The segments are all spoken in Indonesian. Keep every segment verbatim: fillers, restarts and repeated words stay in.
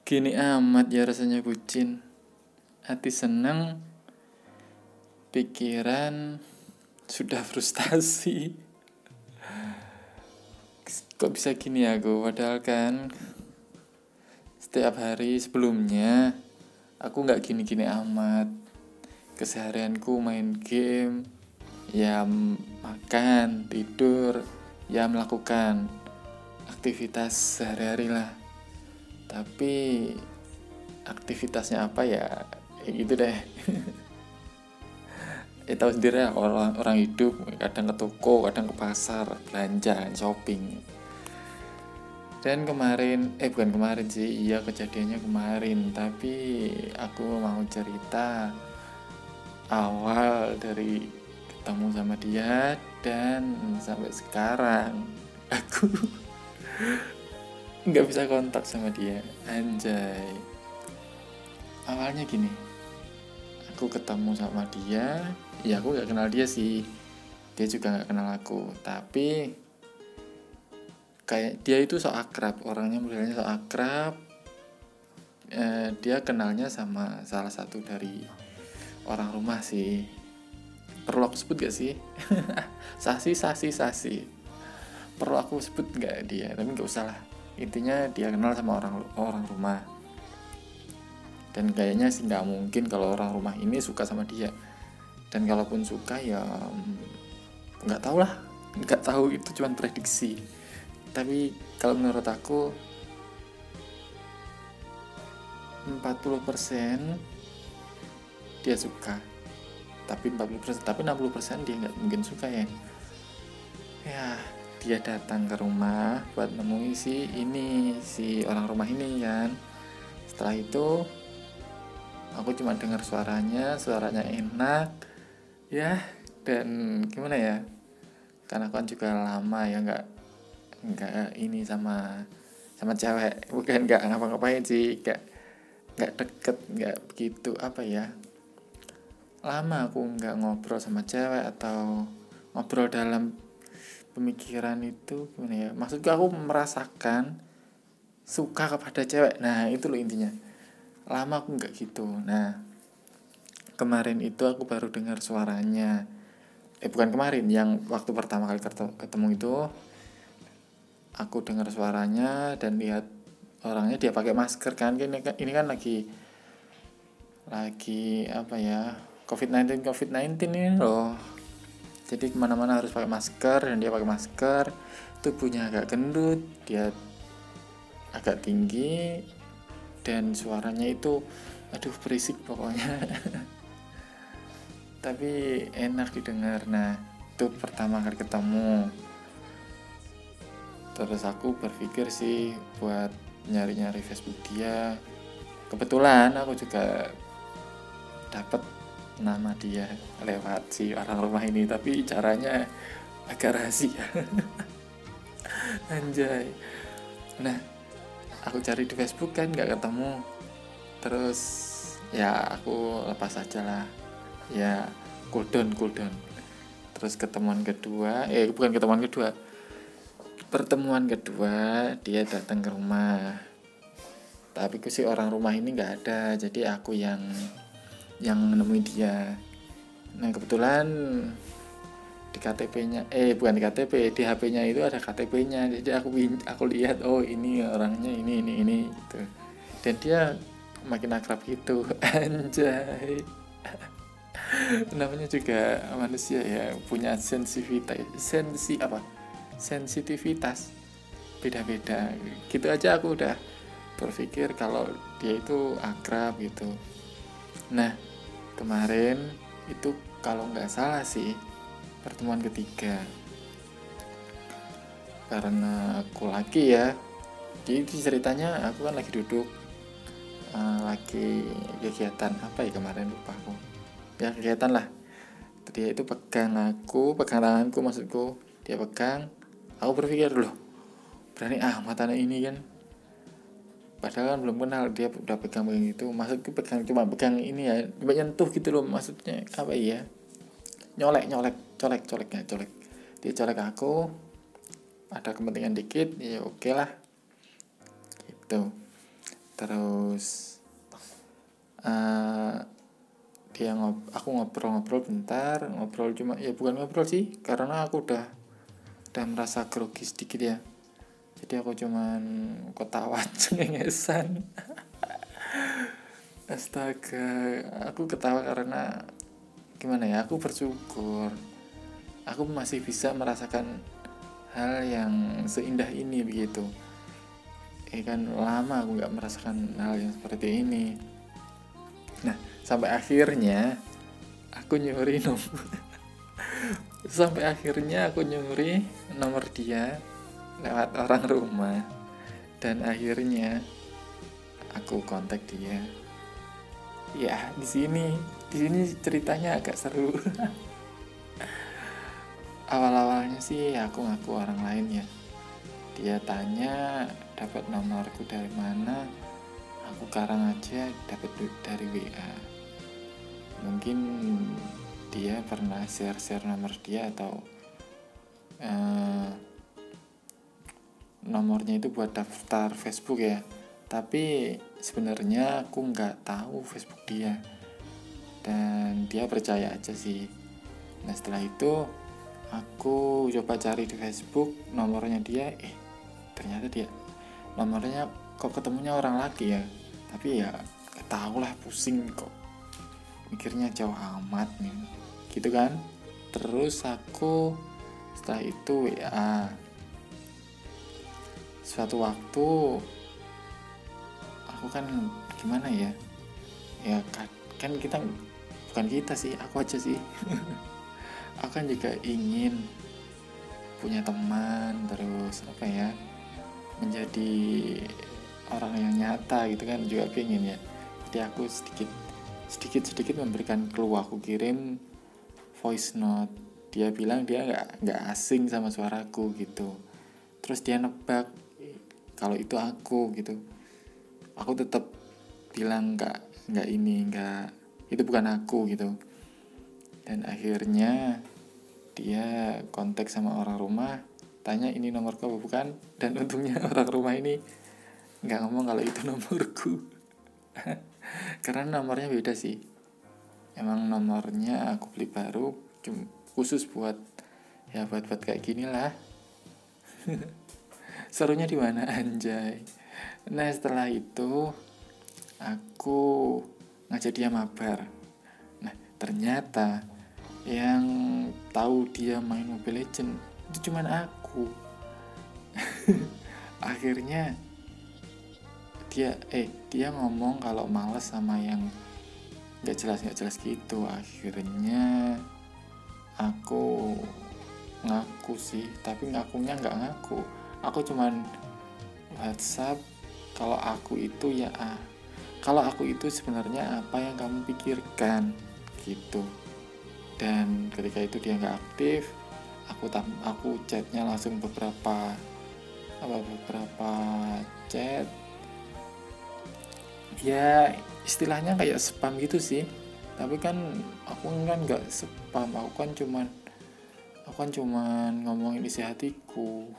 Gini amat ya rasanya bucin. Hati seneng, pikiran sudah frustasi. Kok bisa gini aku? Padahal kan setiap hari sebelumnya aku gak gini-gini amat. Keseharianku main game, ya makan, tidur, ya melakukan aktivitas sehari-hari lah. Tapi aktivitasnya apa ya, ya gitu deh. Ya tahu sendiri ya, orang orang hidup kadang ke toko, kadang ke pasar, belanja, shopping. Dan kemarin, eh bukan kemarin sih, iya kejadiannya kemarin. Tapi aku mau cerita awal dari ketemu sama dia dan sampai sekarang aku nggak bisa kontak sama dia. Anjay. Awalnya gini, aku ketemu sama dia, ya aku nggak kenal dia sih, dia juga nggak kenal aku, tapi kayak dia itu sok akrab, orangnya modelnya sok akrab. Eh, dia kenalnya sama salah satu dari orang rumah sih. Perlu aku sebut gak sih? Sasi, Sasi, Sasi. Perlu aku sebut gak dia? Tapi gak usah lah. Intinya dia kenal sama orang orang rumah. Dan kayaknya sih gak mungkin kalau orang rumah ini suka sama dia. Dan kalaupun suka ya gak tahu lah. Gak tahu, itu cuma prediksi. Tapi kalau menurut aku empat puluh persen dia suka, tapi empat puluh persen, tapi enam puluh persen dia nggak mungkin suka ya. Ya, dia datang ke rumah buat nemui si ini, si orang rumah ini kan. Setelah itu aku cuma dengar suaranya, suaranya enak ya. Dan gimana ya, karena aku kan juga lama ya nggak nggak ini sama sama cewek, bukan nggak ngapa-ngapain sih, nggak nggak deket, nggak begitu apa ya, lama aku nggak ngobrol sama cewek atau ngobrol dalam pemikiran itu gimana ya, maksudku aku merasakan suka kepada cewek. Nah itu loh intinya, lama aku nggak gitu. Nah kemarin itu aku baru dengar suaranya, eh bukan kemarin, yang waktu pertama kali ketemu itu aku dengar suaranya dan lihat orangnya, dia pakai masker kan. Ini, ini kan lagi lagi apa ya, covid sembilan belas covid sembilan belas ini loh. Jadi kemana-mana harus pakai masker, dan dia pakai masker. Tubuhnya agak gendut, dia agak tinggi, dan suaranya itu aduh berisik pokoknya. Tapi enak didengar. Nah itu pertama kali ketemu. Terus aku berpikir sih buat nyari-nyari Facebook dia. Kebetulan aku juga dapat nama dia lewat si orang rumah ini, tapi caranya agak rahasia. Anjay. Nah aku cari di Facebook kan nggak ketemu. Terus ya aku lepas aja lah, ya cooldown cooldown. Terus ketemuan kedua, eh bukan ketemuan kedua, pertemuan kedua dia datang ke rumah. Tapi ku si orang rumah ini nggak ada, jadi aku yang yang menemui dia. Nah kebetulan di K T P-nya, eh bukan di K T P, di H P-nya itu ada K T P-nya. Jadi aku aku lihat, oh ini orangnya ini ini ini gitu. Dan dia makin akrab gitu. Anjay. Namanya juga manusia ya, punya sensitivitas, sensi apa? Sensitivitas beda-beda. Gitu aja aku udah berpikir kalau dia itu akrab gitu. Nah kemarin itu kalau nggak salah sih pertemuan ketiga, karena aku lagi ya, jadi ceritanya aku kan lagi duduk, uh, lagi kegiatan apa ya kemarin, lupa aku ya, kegiatan lah. Dia itu pegang aku, pegang tanganku maksudku, dia pegang. Aku berpikir loh, berani amat anak ini kan, padahal kan belum kenal, dia udah pegang-pegang gitu. Maksudku pegang, cuma pegang ini ya, menyentuh gitu loh, maksudnya apa ya, nyolek nyolek colek colek ya colek. Dia colek aku, ada kepentingan dikit ya oke lah gitu. Terus uh, dia ngob aku ngobrol-ngobrol bentar, ngobrol cuma ya bukan ngobrol sih, karena aku udah udah merasa grogi sedikit ya. Jadi aku cuman ketawa cengengesan. Astaga, aku ketawa karena gimana ya, aku bersyukur aku masih bisa merasakan hal yang seindah ini begitu. Eh kan lama aku nggak merasakan hal yang seperti ini. Nah, sampai akhirnya aku nyuri nomor sampai akhirnya aku nyuri nomor dia lewat orang rumah, dan akhirnya aku kontak dia. Ya, di sini di sini ceritanya agak seru. Awal-awalnya sih aku ngaku orang lain ya. Dia tanya dapat nomorku dari mana, aku karang aja dapat dari W A. Mungkin dia pernah share-share nomor dia atau uh, nomornya itu buat daftar Facebook ya. Tapi sebenarnya aku nggak tahu Facebook dia, dan dia percaya aja sih. Nah setelah itu aku coba cari di Facebook nomornya dia, eh ternyata dia nomornya kok ketemunya orang laki ya. Tapi ya gak tau lah, pusing kok mikirnya jauh amat nih gitu kan. Terus aku setelah itu W A. Suatu waktu aku kan gimana ya, ya kan kita bukan kita sih, aku aja sih. Aku kan juga ingin punya teman, terus apa ya, menjadi orang yang nyata gitu kan, juga pengen ya. Jadi aku sedikit sedikit sedikit memberikan clue. Aku kirim voice note, dia bilang dia nggak nggak asing sama suaraku gitu. Terus dia nebak kalau itu aku gitu. Aku tetap bilang nggak nggak ini nggak itu bukan aku gitu. Dan akhirnya dia kontak sama orang rumah, tanya ini nomorku apa bukan. Dan untungnya orang rumah ini nggak ngomong kalau itu nomorku. Karena nomornya beda sih. Emang nomornya aku beli baru, cuma khusus buat ya buat buat kayak gini lah. Serunya di mana anjay. Nah setelah itu aku ngajak dia mabar. Nah ternyata yang tahu dia main Mobile Legends itu cuman aku. Akhirnya dia eh dia ngomong kalau malas sama yang nggak jelas nggak jelas gitu. Akhirnya aku ngaku sih, tapi ngakunya nggak ngaku. Aku cuman WhatsApp kalau aku itu ya ah, kalau aku itu sebenarnya apa yang kamu pikirkan gitu. Dan ketika itu dia nggak aktif, aku tam aku chatnya langsung beberapa apa beberapa chat ya, istilahnya kayak spam gitu sih. Tapi kan aku kan nggak spam, aku kan cuman aku kan cuman ngomongin isi hatiku.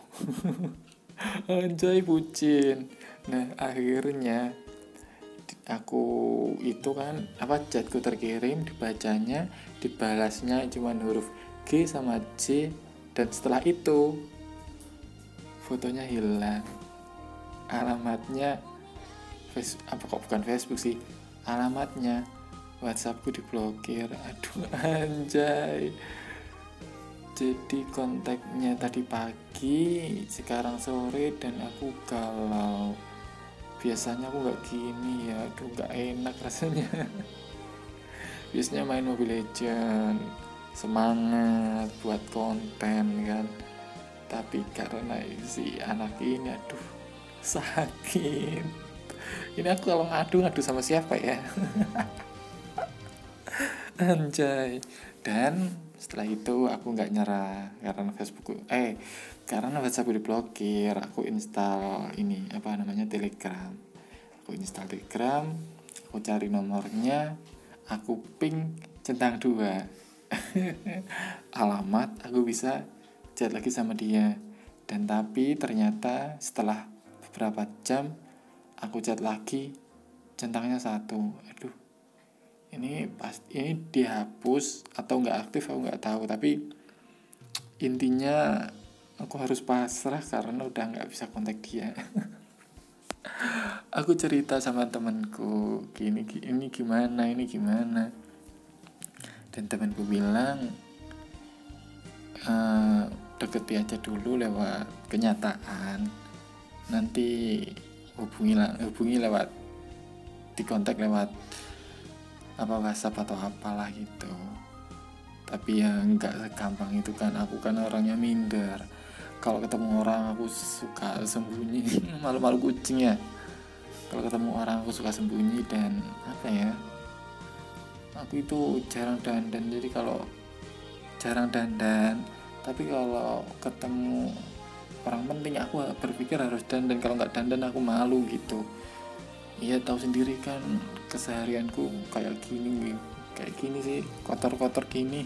Anjay bucin. Nah akhirnya aku itu kan apa chatku terkirim, dibacanya, dibalasnya cuman huruf G sama J, dan setelah itu fotonya hilang, alamatnya face apa kok bukan Facebook sih, alamatnya WhatsAppku diblokir. Aduh anjay. Jadi kontaknya tadi pagi, sekarang sore, dan aku galau. Biasanya aku nggak gini ya, aduh nggak enak rasanya. Biasanya main Mobile Legends, semangat buat konten kan. Tapi karena si anak ini, aduh sakit. Ini aku kalau ngadu ngadu sama siapa ya? Anjay. Dan setelah itu aku nggak nyerah karena Facebook eh karena WhatsApp diblokir. Aku install ini apa namanya Telegram. Aku install Telegram, aku cari nomornya, aku ping centang dua. Alamat, aku bisa chat lagi sama dia. Dan tapi ternyata setelah beberapa jam aku chat lagi centangnya satu. Aduh, ini pasti ini dihapus atau nggak aktif aku nggak tahu, tapi intinya aku harus pasrah karena udah nggak bisa kontak dia. Aku cerita sama temanku gini, ini gimana ini gimana dan temanku bilang e, deketi aja dulu lewat kenyataan, nanti hubungi hubungi lewat di kontak lewat apa WhatsApp atau apalah gitu. Tapi ya nggak segampang itu kan, aku kan orangnya minder. Kalau ketemu orang aku suka sembunyi, malu-malu kucing ya. Kalau ketemu orang aku suka sembunyi dan apa ya, aku itu jarang dandan. Jadi kalau jarang dandan, tapi kalau ketemu orang penting aku berpikir harus dandan. Kalau nggak dandan aku malu gitu. Iya tahu sendiri kan keseharianku kayak gini, kayak gini sih, kotor-kotor gini.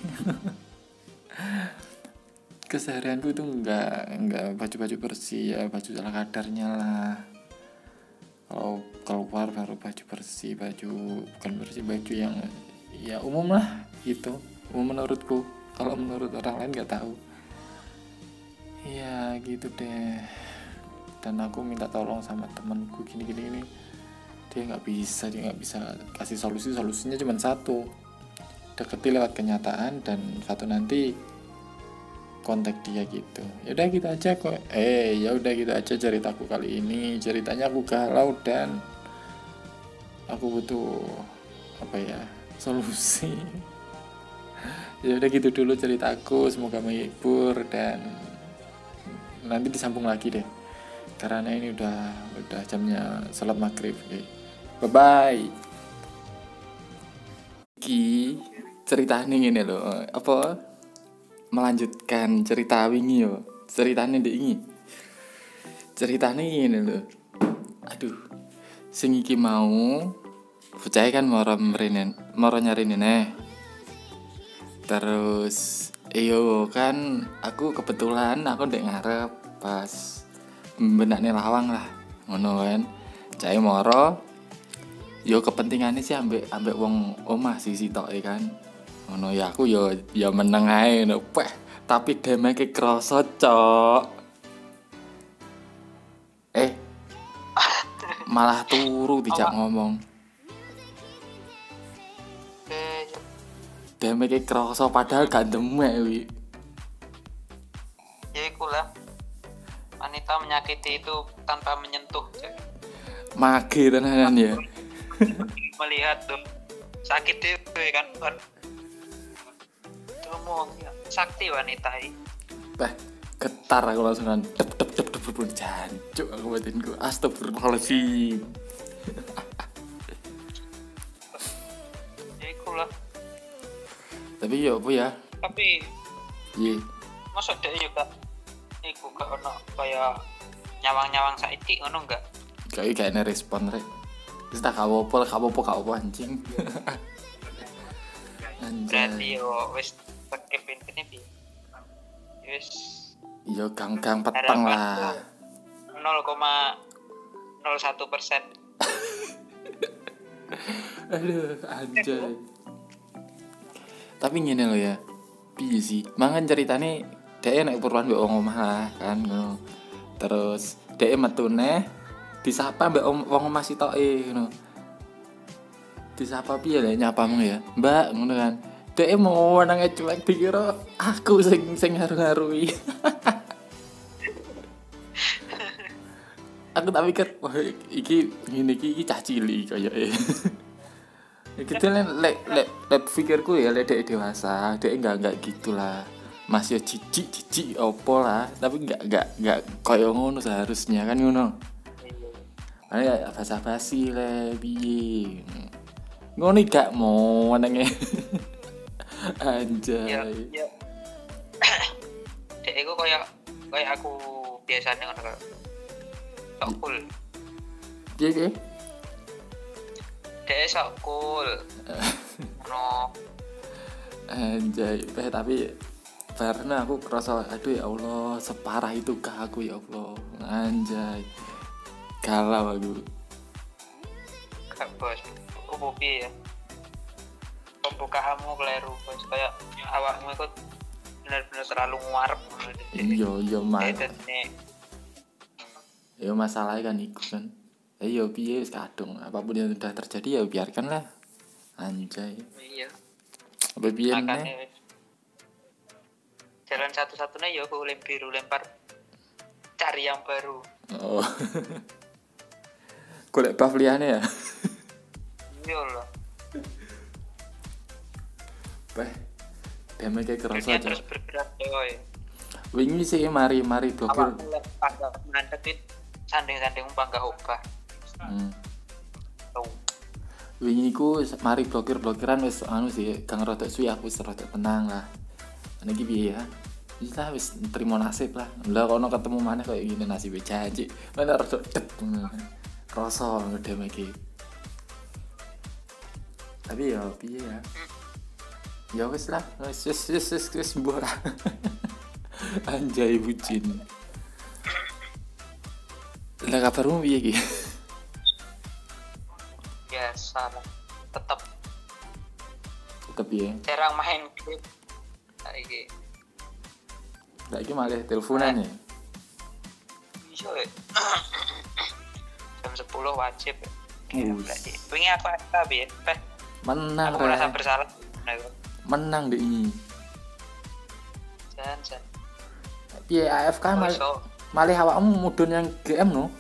Keseharianku itu nggak nggak baju-baju bersih ya, baju ala kadarnya lah. Kalau keluar baru baju bersih, baju bukan bersih, baju yang ya umum lah gitu, umum menurutku. Kalau menurut orang lain nggak tahu. Ya gitu deh. Dan aku minta tolong sama temanku gini-gini ini. Dia nggak bisa, dia nggak bisa kasih solusi. Solusinya cuma satu, deketi lewat kenyataan, dan satu nanti kontak dia gitu. Ya udah gitu aja kok. Eh ya udah gitu aja ceritaku kali ini. Ceritanya aku galau dan aku butuh apa ya, solusi. Ya udah gitu dulu ceritaku, semoga menghibur dan nanti disambung lagi deh. Karena ini udah udah jamnya salat maghrib. Okay. Bye bye. Ki ceritanya ngene lho, apa melanjutkan cerita wingi yo. Ceritane ndek iki. Ceritane ngene lho. Aduh. Sing iki mau bocah kan moro mrene, moro nyari nene. Terus iyo kan aku kebetulan aku ndek ngarep pas benakne lawang lah. Ngono kan. Cai moro yo kepentingannya sih ambek ambek wong omah sih sitoke kan. Ngono ya aku yo ya meneng ae ngono. Peh, tapi demeke krasa, Cok. Eh. Malah turu dijak ngomong. Eh, demeke krasa padahal gak demek wi. Ya ikulah. Wanita menyakiti itu tanpa menyentuh. Mage tenanan ya. Melihat tuh sakit itu kan, tuh mau sakti wanita ini. Bah, getar aku langsungan dep dep dep dep dep jancuk aku batinku. Astagfirullahaladzim. Ya ikulah. Tapi ya apa ya? Tapi iya. Masa dia juga iku gak ono kayak nyawang-nyawang saiki ngono enggak? Kayak gak ada respon rek. Wis tak kawopo, kawopo kawopo anjing. Anjing. Berarti yo wis pakai pintine piye? Wis yo gang-gang peteng lah. nol koma nol satu persen. Aduh, anjay. Tapi ngene lho ya. Piye sih? Mangan ceritane dhek nek purwan mbek wong omah lah kan ngono. Terus dhek metune disapa mbak om, wong omah sitoke ngono. Disapa piye lek nyapamu ya? Mbak ngono kan. Dek mau nang cuek dikira aku sing sing haru-harui. Aku tak pikir wah iki ngene iki iki cah cilik koyoke. Iki lek lek lek lek pikirku ya lek dek dewasa, dek enggak enggak gitulah. Masih jijik-jijik opo lah, tapi enggak enggak enggak koyo ngono seharusnya kan ngono. Ayo basa-basi le piye. Ngono gak mau nenge. Anjay. Ya, ya. Dek iku koyo koyo aku biasane ngono kok. Sok cool. Piye piye? Dek sok cool. Ngono. Anjay, eh, tapi karena aku kerasa aduh ya Allah, separah itu kah aku ya Allah. Anjay. Galau aku. bos. Opo piye ya? Pembukaanmu keliru bos. Kayak awakmu itu benar-benar terlalu nguarep. Iya iya mas. Editnya. Ya masalahnya kan iku kan. Ya piye wis kadung apapun yang sudah terjadi ya biarkanlah. Anjay. Iya. Apa piye nih? Makanya jalan satu-satunya ya aku lem biru lempar cari yang baru. Oh. Golek buff liyane ya. Iya loh. Beh. Deme kayak kerasa Dunia aja. terus bergerak coy. Wingi sih mari mari blokir. Awakmu lek pada mantepin sanding-sanding bangga obah. Hmm. Tuh. Wingi ku mari blokir-blokiran wis anu sih, gang rodok suwi aku wis rodok tenang lah. Niki piye ya? Wis lah wis trimo nasib lah. Lah kono ketemu maneh koyo ngene nasibe janji. Mana rodok dep. Rasa ngedem iki. Tapi ya piye ya? Ya wis lah, wis wis wis wis wis mbok lah. Anjay bucin. Lah kabarmu piye iki? Biasa lah. Tetap Tetep ya. jarang main game. Saiki. Saiki malah teleponan ya. Iya. ya. Jam sepuluh wajib. Us. Berarti. Wingi aku tapi ya. Peh, Menang aku merasa Rek. bersalah. Nah, aku. Menang deh ini. Jan jan. Piye A F K mal So, malih awakmu mudun yang G M no?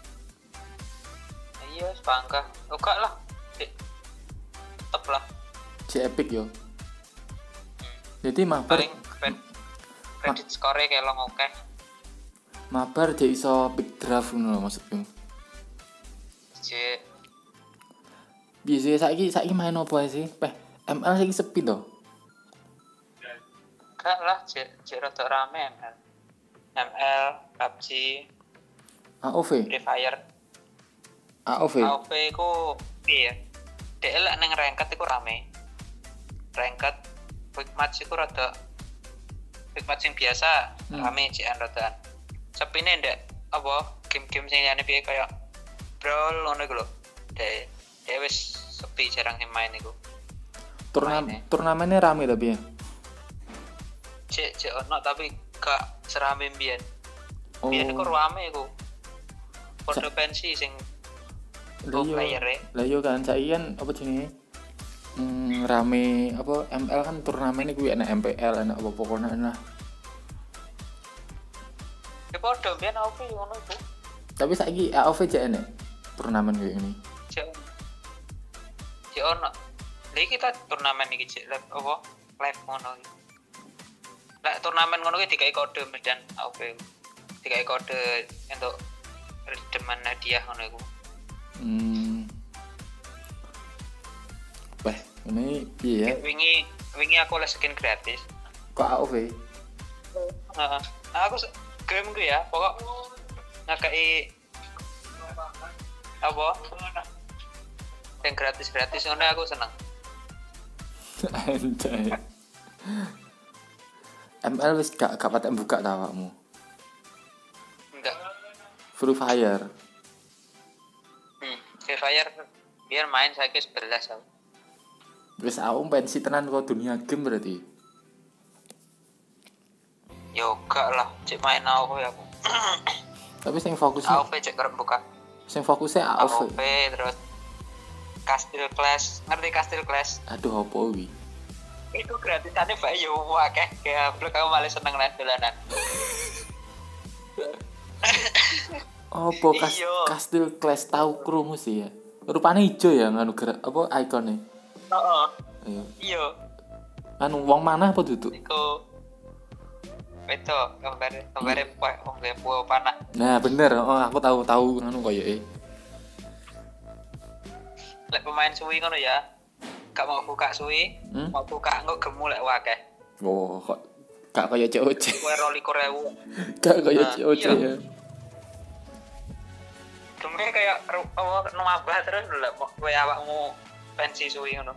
iya, bangga. Oke lah. Dik. Tetep lah. J Epic yo. Jadi mabar Paling kred- kredit score kayak lo oke. mabar dia iso pick draft ngono maksudku. J Biasa saiki saiki main apa sih? Peh M L saiki sepi to. Gak lah, J J rada rame M L. M L, P U B G, A O V, Free Fire, A O V. A O V ku iya. Dek lek ning ranked iku rame. Ranked quick match iku rada quick match sing biasa Hmm. rame jikan rodaan. Sepine ndak apa game-game sing liyane piye kaya Brawl ngono iku lho. Dek dek wis sepi jarang sing main iku. Turnamen Main, ya. turnamennya rame tapi ya. Cek cek ono tapi gak serame mbiyen. Oh. Biyen iku rame iku. Podo pensi sing Lah pro yo. player e. Lah yo kan saiki kan apa jenenge? Hmm, rame apa M L kan turnamen iku enak M P L enak apa pokoknya enak. Ya podo biyen A O V ngono iku. Tapi saiki A O V jek enak turnamen kayak gini. Cek cek ono. Lha iki kita turnamen iki cek live apa? Live ngono iki. Lah turnamen ngono iki dikai kode medan A O V. Dikai kode untuk redeman hadiah ngono iku. Hmm. Wah, ini piye ya? Wingi wingi aku oleh skin gratis. Kok A O V? Heeh. Aku se- game ku ya, pokok ngakei apa? Yang gratis-gratis ngono aku seneng. Anjay. M L wis gak gak patek buka ta awakmu. Enggak. Free Fire. Hmm. Free Fire biar main saya ke sebelas aku. Wis aku pensi tenan kok dunia game berarti. Yo gak lah, cek main A O V aku. Tapi sing A O fokusnya V cek kerep buka. sing fokusnya A A O O V. V terus Castle Clash, ngerti Castle Clash? Aduh opo wi. Itu gratisannya bae yo akeh, kayak blok aku malah seneng lah dolanan. Opo kas Iya. Castle Clash tau krungu sih ya. Rupane ijo ya nganu gerak apa ikonnya. Heeh. Ayo. Iya, Anu wong mana apa duduk? iku itu gambar gambarnya pak gambar buah panah. Nah, bener. Oh, aku tahu tahu nganu koyoke. Lek pemain suwi ngono ya. Gak mau buka suwi, Hmm? mau buka engko gemu lek wakeh. Oh, kok gak kaya C O C. Kowe rolikur ewu. Gak kaya Nah, C O C iya. ya. Geme kayak ru- apa nambah terus lek kowe awakmu pensi suwi ngono.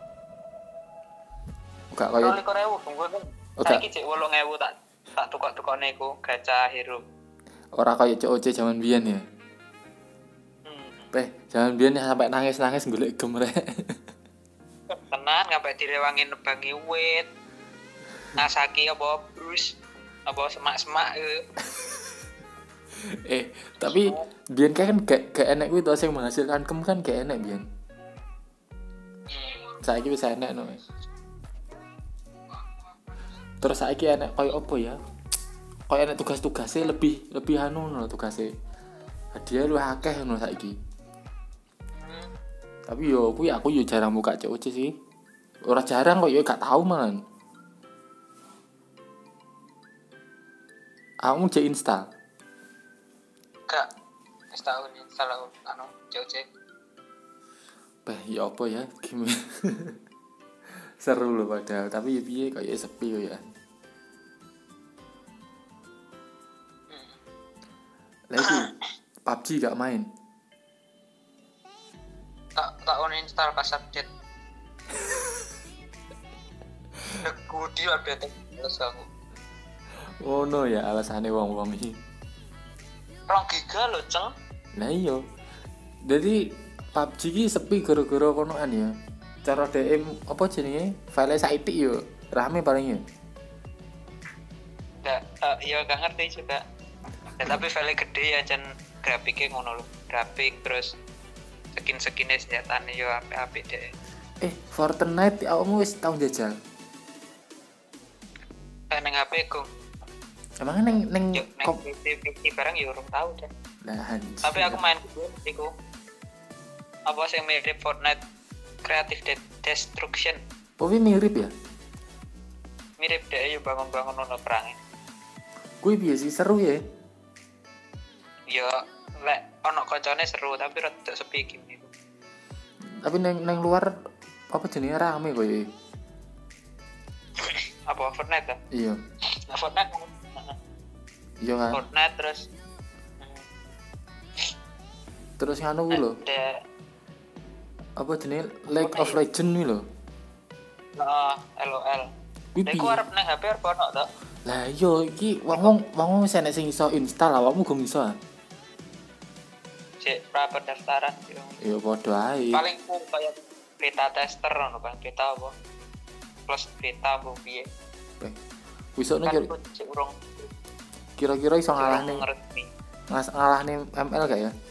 Gak kaya Rolikur ewu tunggu kan. Oh, Saiki cek wolung ewu tak tak tukok-tukokne iku gacha hero. ora kaya C O C zaman biyen ya. Hmm. Peh, jangan biyen sampai nangis-nangis golek gem rek. Tenan sampai direwangi nebangi wit. Ngasaki apa brus apa semak-semak eh. eh, tapi biyen kan gak gak enek kuwi to sing menghasilkan kem kan gak enek biyen. Saiki wis enek no. Terus saiki enek koyo apa ya? Koyo enek tugas-tugasnya lebih lebih anu no tugasnya. Hadiah lu akeh no saiki. Tapi yo kuwi aku yo jarang buka C O C sih. Ora jarang kok yo gak tau malan. Aku cek install. Gak wis tau install anu C O C. Bah, ya apa ya? Gimana? Seru loh padahal, tapi ya piye kayak sepi ya. Lagi P U B G gak main. Tak tak uninstall pas update. Negudi update terus aku. Oh no ya alasannya wong-wong iki. Rong giga lho, Ceng. Nah iya. Jadi P U B G iki sepi gara-gara konoan ya. Cara D M apa jenenge? File saiki yo rame paling ya. Enggak, uh, ya gak ngerti juga. Ya, tapi file gede ya jan grafiknya ngono lho. Grafik terus skin-skinnya senjatane yo apik-apik deh. Eh, Fortnite awakmu wis tau njajal? Neng H P ku. Emang neng neng Yo neng P C P C barang yo urung tau deh. Nah, Tapi aku main game iku. Apa sing mirip Fortnite Creative De- Destruction. Oh, ini mirip ya? Mirip deh yo bangun-bangun ono perangnya. Kuwi piye sih seru ya? Yo lek ono koncone seru tapi rada sepi game iku. Tapi neng neng luar apa jenenge rame kok ya? Apa Fortnite ta? Iya. Nah, Fortnite. Iya kan. Fortnite terus Terus nganu kuwi lho. ada Apa jenenge League of Legends kuwi lho. Heeh, L O L. Kuwi Iku piye? arep nang H P arep ono to? Lah iya iki wong wong wis enek sing iso install awakmu gong iso. Ah? Cek pra pendaftaran gitu. Ya padha ae. Paling ku kayak beta tester ngono kan, beta apa? Plus beta apa piye? Eh, wisokno Kan kira- ku cek urung kira-kira iso urung ngalahne ngerti. ngas ngalahne M L gak ya?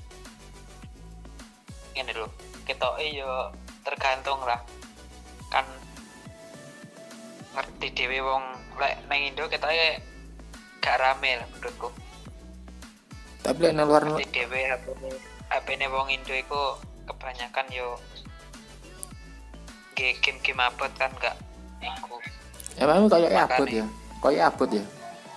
Ngene lho, ketoke yo tergantung lah. Kan ngerti dhewe wong lek nang Indo ketoke gak rame lah menurutku. Tapi lek nang luar Ngerti dhewe H P-ne H P-ne wong Indo iku kebanyakan yo ge game-game abot kan gak iku. emang kayak Makanya. abot ya. Kayak abot ya.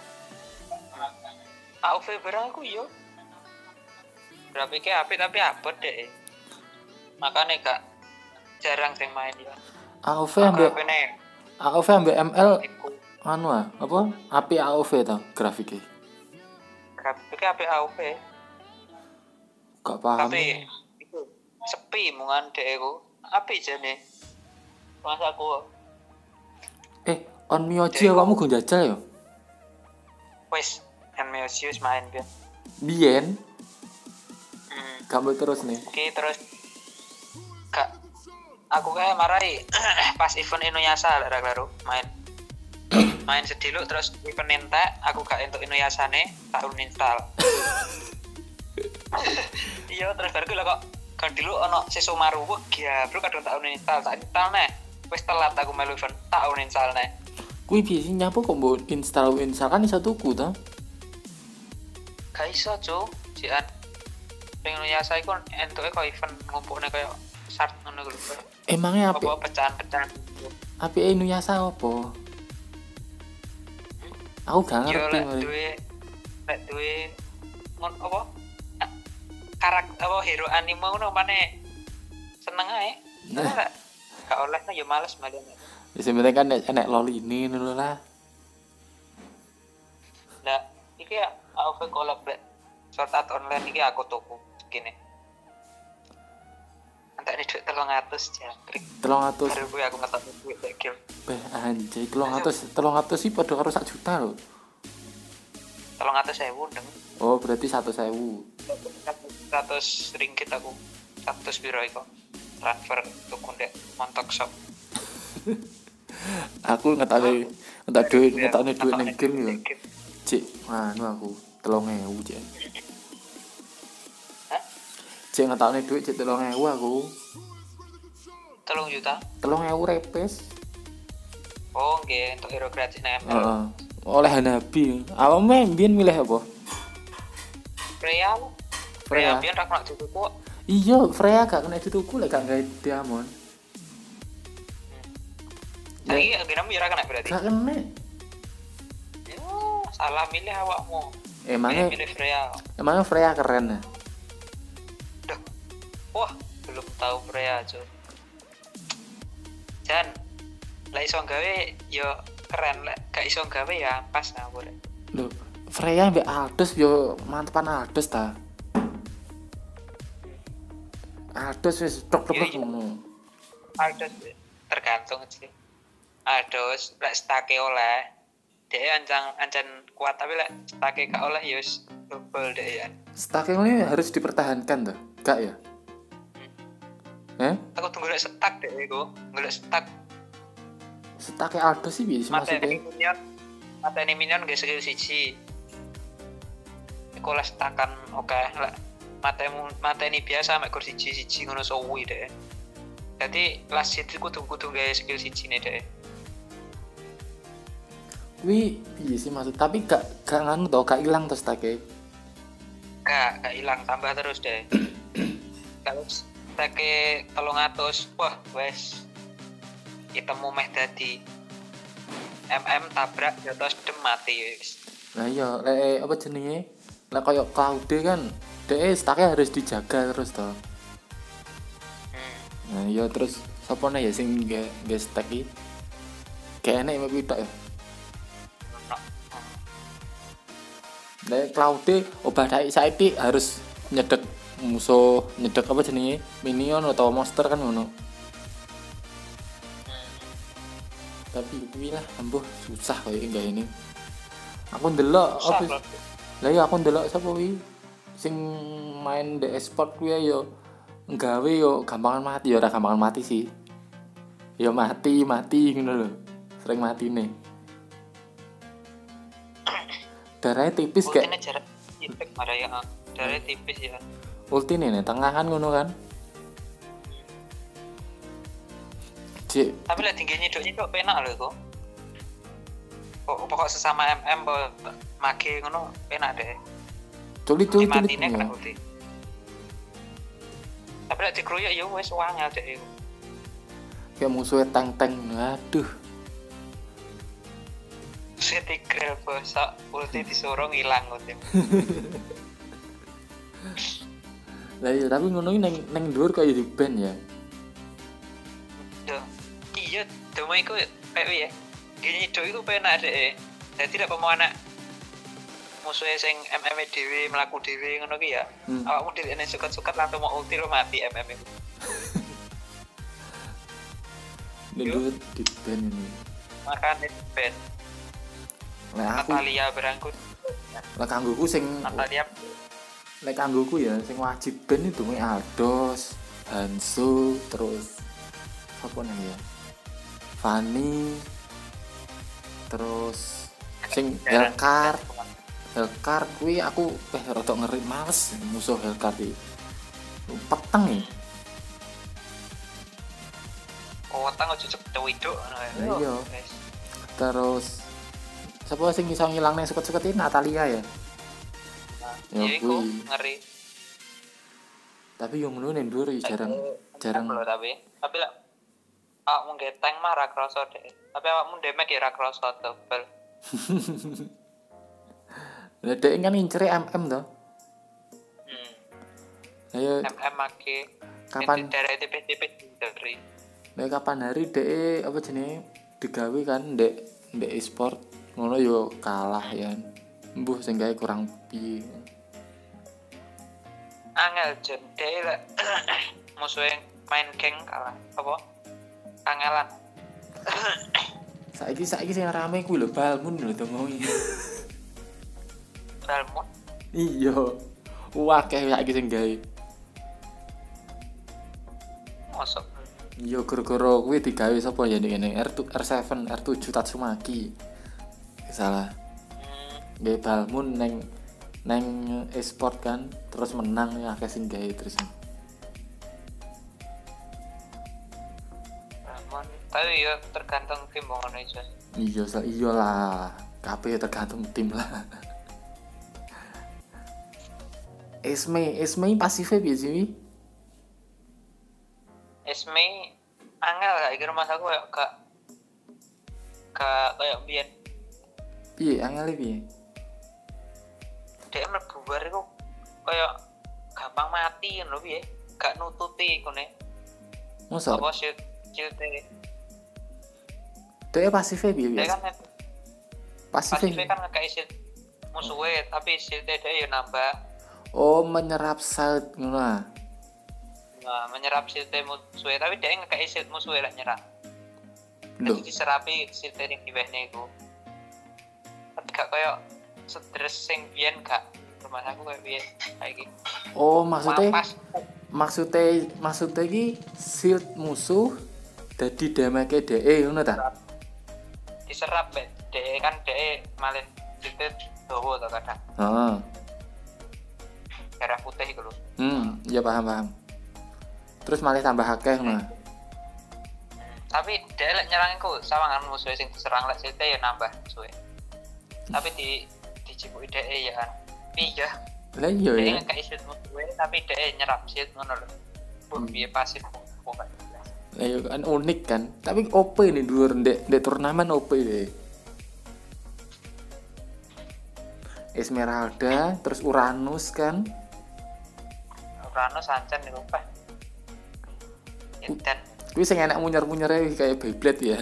A O V barang aku yo. Grafiknya apik tapi abot deh. Makanya gak jarang sing main ya. A O V ambek H P-ne A O V ambek M L iku anu ah, apa? A P A O V ta grafiknya. grafiknya apik A O V. Gak paham. Tapi itu sepi mungan dek iku. Apik jane. Mas aku Eh, on Mioji awakmu gong jajal ya? wis kan Meosius main kan. Biyen Hmm. gambar terus nih. Oke terus kak aku kayak marahi pas event Inuyasha lah klaro main main sediluk terus event entek aku gak entuk Inuyashane tak uninstall. Iya terus baru lah kok kan dulu ono Sesomaru wah ya bro kadang tak uninstall tak install neh wis telat aku melu event tak uninstall neh. Kuwi biasanya nyapu kok mbok install install kan iso tuku ta? Gak iso cu jian pengen Inuyasha iku entuke kok event ngumpulne kayak shard ngono lho. Emangnya apik Apa pecahan-pecahan apike Inuyasha apa? Aku gak yo ngerti lek mari. duwe lek duwe ngon apa karakter apa hero anime ngono maneh seneng ae. Nah, gak oleh nah yo males malah. Ya sebenarnya kan enek- enek loli ini dulu lah. Lah iki ya A O V collab lek Sword Art Online iki aku tuku gini. Entek ini duit telung atus jangkrik. telung atus Baru gue aku ngetok duit lek game. beh anjay telung atus telung atus sih padha karo sak juta lho. Telung atus sewu deng. Oh berarti satu sewu. seratus ringgit aku seratus biro iku transfer tuku ndek montok shop. Aku ngetake ngetak duit Ya, ngetakne duit ning ngetokne game duit yo. ning game. Cik, anu aku telung ewu cik. Hah? Cik ngetakne duit cik telung ewu aku. Telung juta. Telung ewu repes. Oh nggih untuk hero gratis nang M L. Heeh. Oleh Hanabi. Awakmu mbiyen milih apa? Freya. Freya. Freya biyen ra kena dituku kok. Iya, Freya gak kena dituku lek gak gawe diamond. Saiki genemu ya ra kena berarti. Gak kena. Yo, salah milih awakmu. Emangnya milih Freya. emangnya Freya keren ya? Duh. Wah, belum tahu Freya, Cuk. Jan, lek iso gawe yo keren, lek gak iso gawe ya pas nah boleh. Loh, Freya mbek Aldos yo mantepan Aldos ta. Aldos wis tok-tok Iya, iya. ngono. Aldos tergantung sih. Aldos lek stake oleh dia ancang ancen kuat tapi lek stake gak oleh ya wis double deh ya. Stake ini harus dipertahankan tuh, gak ya? Eh? Aku tunggu lek stak deh iku, golek stak Stake Aldos sih bisa mateni maksudnya. minion. Mateni minion ge skill siji. Iku lek stakan oke lek matemu mateni biasa mek kur siji-siji ngono suwi deh. Jadi last hit iku kudu gawe skill siji ne deh. Wih, iya sih maksud, tapi gak gak nganu tau, gak hilang terus stake. Gak, gak hilang, tambah terus deh. Kalau stake telung atus, wah wes ketemu meh dadi M M tabrak jotos dem mati wis. Nah iya, lek apa jenenge? Lek koyo Cloud kan, dhek stake harus dijaga terus toh. Hmm. Nah iya terus sapa nih ya sing nge nge stack iki? Kayak enek mek tok ya. Lek Cloud obah daik saiki harus nyedek musuh, nyedek apa jenenge? Minion atau monster kan ngono. Tapi kuwi lah ambuh susah koyo enggak ini. Aku ndelok Susah, apa bro. lah ya aku ndelok sapa kuwi sing main di e-sport kuwi yo nggawe yo gampangan mati yo ora gampangan mati sih. Yo mati, mati ngono lho. Sering matine. Darahnya tipis kayak Ultine jarak tipis marah ya. Darahnya tipis ya. ulti nih, nih tengah kan ngono kan. Cik, Tapi lah tinggi nyiduk-nyiduk penak lho iku. Kok pokok sesama M M bo mage ngono penak deh. culit culit culit. Matine kena ulti. Tapi lek dikeroyok ya wis wangel deh iku. Kayak musuhnya tank-tank. Aduh. Setigre bosok ulti disuruh ngilang ulti. Lah iya tapi ngono iki neng neng dhuwur kaya di band ya. Duh. Iya, demo iku kayak ya. Gini do iku penak deh. Dadi lek pomo anak musuhnya sing M M dhewe mlaku dhewe ngono ki ya. Hmm. Awakmu dhewe nek suket-suket langsung mau ulti lo mati M M iku. Neng dhuwur di band ini. Makane ben Lah aku Natalia berangkut. lah kanggoku sing Natalia lek kanggoku ya sing wajib band itu mek Aldos, Hanzo, terus apa nih ya? Fanny, terus sing Hellcard. Hellcard kuwi aku eh rada ngeri males musuh Hellcard iki. Peteng nih. oh tang ojo cepet widok ngono. Iya. Terus siapa sing iso ngilang ning suket-suket ini Natalia ya. Ya Ya iku kuwi. ngeri. Tapi yang ngono ning dhuwur jarang jarang. Lho, tapi tapi lek awakmu nge tank mah ra kroso deh. Tapi awakmu damage ya ra kroso double. Lah dhek kan ngincer M M to. Hmm. Ayo M M make kapan dari tipis-tipis dari Nek kapan hari dek apa jenenge digawe kan dek dek e-sport ngono yo kalah ya. Mbuh sing gawe kurang piye. angel jen dhewe lek musuhe main geng kalah apa? Angelan. Saiki saiki sing rame kuwi lho Balmun lho to mau. Balmon. Iya. Wah, kayak saiki sing gawe. Mosok Yo gara-gara kuwi digawe sapa ya ngene R tujuh R tujuh R tujuh Tatsumaki. Salah. hmm, Gawe Balmun neng neng e-sport kan, terus menang ya akeh sing gawe terus. Ramon. Tapi ya tergantung tim ngono iso. Iya, sa- iyalah. Kabeh tergantung tim lah. Esme, Esme pasifnya biasa sih. Esme angel gak iki rumah aku kayak gak gak kayak biyen Piye angel piye? dia mlebu bar iku kayak gampang mati ngono piye gak nututi kene Mosok apa shield shield dia pasifnya piye dia biasa? kan Pasifnya. pasifnya kan ngekei shield musuhnya tapi shieldnya dia ya nambah. Oh, menyerap salt ngono ah. Nah, menyerap shieldnya musuhnya tapi dia ngekei shield musuhnya lah nyerap. Loh, Jadi diserapi shieldnya yang diwehnya itu tapi gak kayak stres sing biyen gak rumah aku kayak biyen kayak gitu. oh maksudnya Mapas. maksudnya maksudnya iki shield musuh dadi damage dhek ngono ta? Diserap bet de kan de malah itu dowo to kadang Heeh. darah putih gitu loh. Hmm, ya paham paham. Terus malah tambah akeh ngono. Hmm, tapi de lek nyerang iku sawangan musuh sing diserang lek sithik ya nambah suwe tapi di dicipuki de ya kan iya Lah iya de ya. ngekei shield musuh tapi de nyerap shield ngono lho pun piye pasif pokoknya Lah iya kan unik kan. Tapi O P nih dulur ndek ndek turnamen O P deh. Esmeralda, terus Uranus kan. Uranus ancen niku Pak. Dan Kuwi sing enak munyer-munyere kayak Beyblade ya.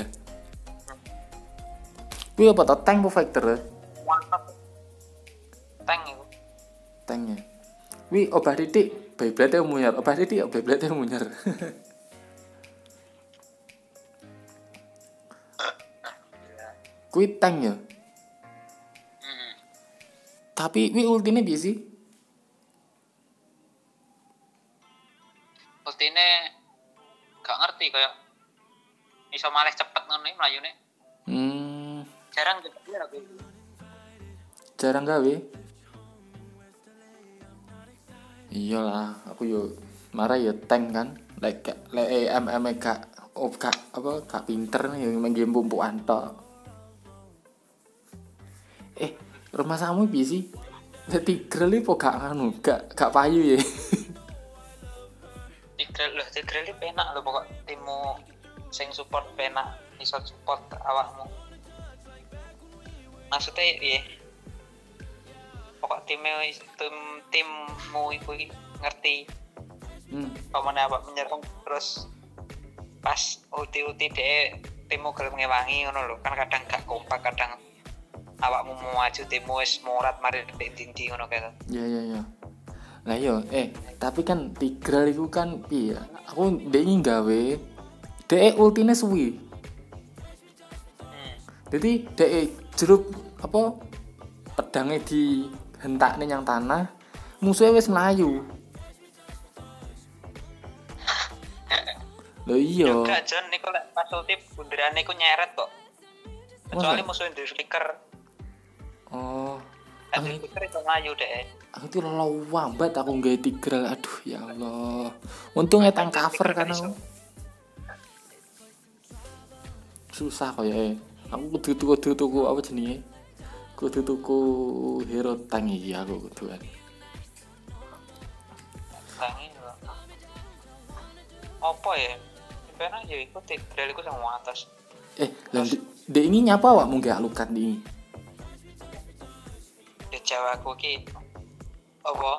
Kuwi apa to tank apa fighter? mantap tank iku Tanknya. Kuwi obah titik Beyblade munyer, obah titik Beyblade munyer. Kuwi tank ya. hmm. Tapi kuwi ultine piye sih? ultine gak ngerti kayak iso malih cepet ngono iki mlayune Hmm, jarang gede aku jarang gawe. Iyalah, aku yo marah ya tank kan. Lek lek E M M gak oh gak apa gak pinter nih main game pumpuan tok. Eh, rumah samu piye sih? Dadi greli po gak anu, gak gak payu ya. Tigreal lho Tigreal iki penak lho pokok timmu sing support penak iso support awakmu maksudnya piye pokok timnya tim timmu iku iki ngerti Hmm. pamane awak menyerang terus pas ulti-ulti dhek timmu gelem ngewangi ngono lho kan kadang gak kompak kadang awakmu mau maju timmu wis morat mari ndek dindi ngono kae. Ya ya ya. Lah yo, eh tapi kan Tigreal iku kan piye? Aku ndek iki gawe dhek ultine suwi. Hmm. Jadi dhek jeruk apa pedangnya dihentakne yang tanah, musuhnya wis melayu. Lho iya. Juga John niku lek pas ulti bunderane iku nyeret kok. Kecuali Masa? musuh di flicker. Oh, Kan aku, di flicker itu ngayu deh. aku tuh lawambat aku nggawe Tigreal. Aduh ya Allah. Untung etang cover kan aku. Susah kok ya. Aku kudu tuku kudu tuku apa jenenge? Kudu tuku hero tank iki aku kudu kan. Tangi lho. Apa ya? Sebenarnya ya iku Tigreal iku sama atas. Eh, lah dek ini nyapa awak mungkin alukan di. Di Jawa aku ki apa?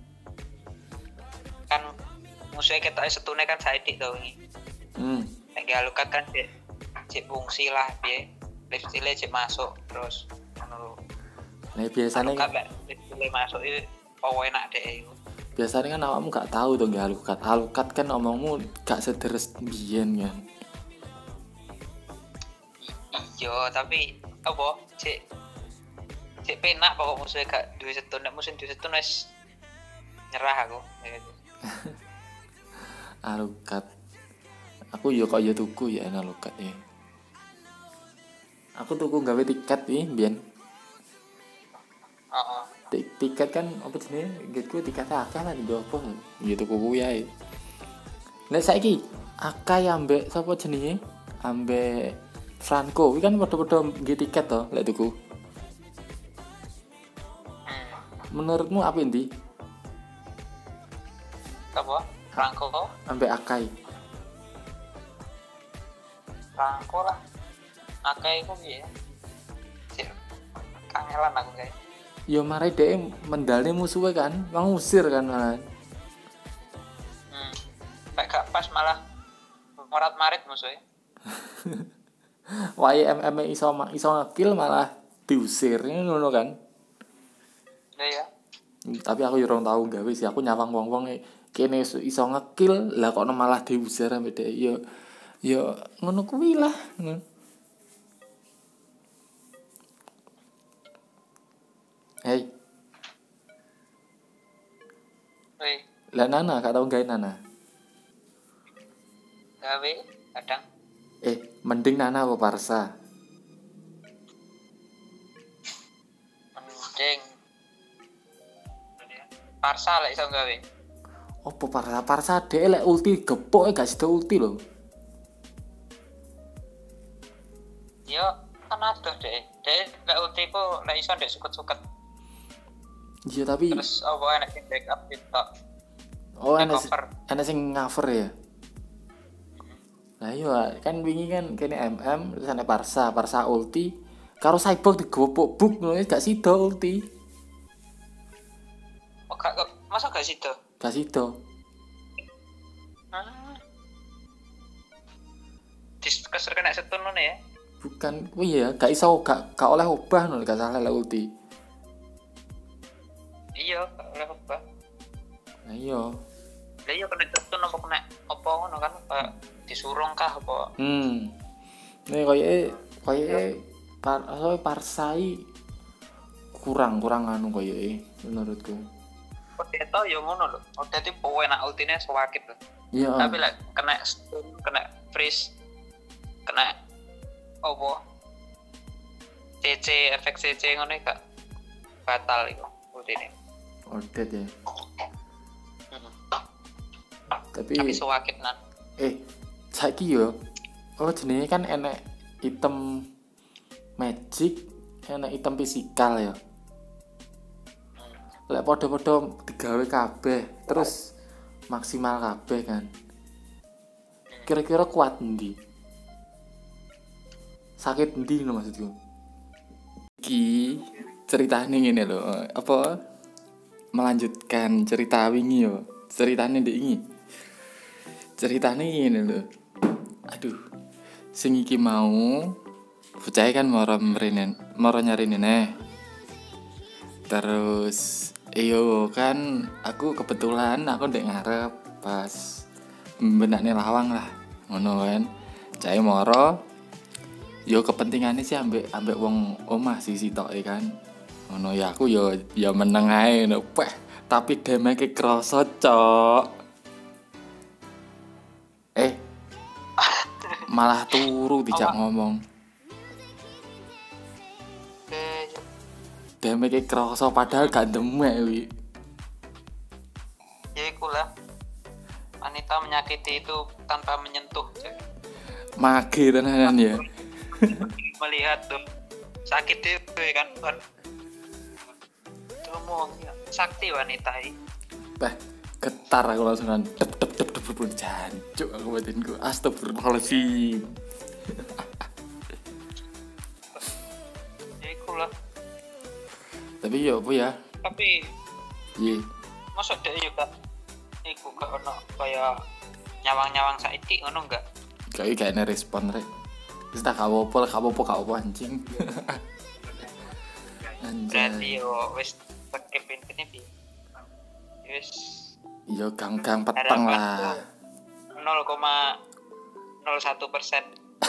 Kan musuhnya kita setune kan saidik tau ini. Hmm. Lagi alukat kan cek cek fungsi lah piye. Lifestyle cek masuk terus ngono. Nah, biasanya Alukat lek lifestyle masuk itu apa enak deh iku. biasanya kan awakmu gak tahu dong gak alukat. Alukat kan omongmu gak sederes biyen kan. Iya, tapi apa? Cek cek penak pokok musuhnya gak duwe setun, nek musuh duwe setun wis nyerah aku ya. Alukat. Aku yo kok yo tuku ya alukat ya. Aku tuku gawe tiket nih biyen. Heeh. Tik- tiket kan apa jenenge? Gitu tiket akeh lah di opo. Ya tuku kuwi ae. Nek saiki akeh ambek sapa jenenge? Ambek Franco, iki kan padha-padha nggih tiket to lek tuku. Hmm. Menurutmu apa ndi? Apa? Rangko, Ambek Akai. rangko lah. Akai iku piye? Cek. Kangelan aku kayak. Ya mari dhek mendalne musuhe kan, ngusir kan malah. Hmm. Kayak gak pas malah morat-marit musuhnya. Wae M M iso iso ngekill malah diusir ngono kan. Iya ya. Tapi aku yo ora tau gawe sih, aku nyawang wong-wong kene iso ngekill lah kok malah diusir ambek dhek. Yo yo ngono kuwi lah. Hei, Woi, lah Nana gak tau gawe Nana. gawe kadang Eh, mending Nana apa Parsa? mending Parsa lah iso gawe. Opo Parsa? Parsa dhek lek ulti gepok gak sida ulti lho. Yo kan adoh deh. Deh lek ulti ku lek iso ndek suket-suket. Iya tapi Terus apa enak sing backup itu. oh enak cover. enak sing cover ya. Lah iya kan wingi kan kene M M terus ana Parsa, Parsa ulti karo Cyborg digopok buk ngono gak sida ulti. Oh, gak, gak- masa gak situ? Gak sida. Hmm. Dis keser kena setun ngono ya. Bukan kuwi ya, gak iso gak gak oleh obah ngono gak salah lek ulti. Iya, gak oleh apa. Lah iya. Lah iya kena setun apa kena apa ngono kan kayak disurung kah apa. Hmm. Nih koyoke koyoke par oh, Parsai kurang kurang anu koyoke menurutku. Potato yo ngono lho. Udah tipe enak ultine sewakit lho. Iya. Tapi lek kena stun, kena freeze, kena apa? C C efek C C ngono gak batal iku ultine. Odet ya. Hmm. Tapi Tapi sewakit nan. eh saiki yo oh jenenge kan enek item magic, enek item fisikal ya. Lek padha-padha digawe kabeh terus maksimal kabeh kan. Kira-kira kuat endi? Sakit endi lho maksudku. Iki ceritane ngene lho, apa melanjutkan cerita wingi yo. Ceritane ndek iki. Ceritane ngene lho. Aduh. Sing iki mau bocah kan moro mrene, moro nyari nene. Terus iyo kan aku kebetulan aku ndek ngarep pas benakne lawang lah. Ngono kan. Cai moro yo kepentingane sih ambek ambek wong omah sih sitoke kan. Ngono ya aku yo yo meneng ae ngono. Peh, tapi damage kroso, Cok. Eh. Malah turu dijak ngomong. Eh, Damage kroso padahal gak demek wi. ya iku lah. Wanita menyakiti itu tanpa menyentuh. Mage tenanan ya. Melihat tuh sakit itu ya kan. Kan. Itu ngomong ya, sakti wanita ini. Bah, getar aku langsung kan dep dep dep dep dep jancuk aku batinku. Astagfirullahaladzim. Ya iku lah. Tapi yo apa ya? Tapi Iya. masuk deh juga iku gak ono kayak nyawang-nyawang saiki ngono enggak? Kayak gak ada respon rek. Wis tak apa-apa, gak apa-apa, gak apa anjing. Berarti Anjay. yo wis skip ini bi. Wis Yo gang-gang peteng lah. nol koma nol satu persen.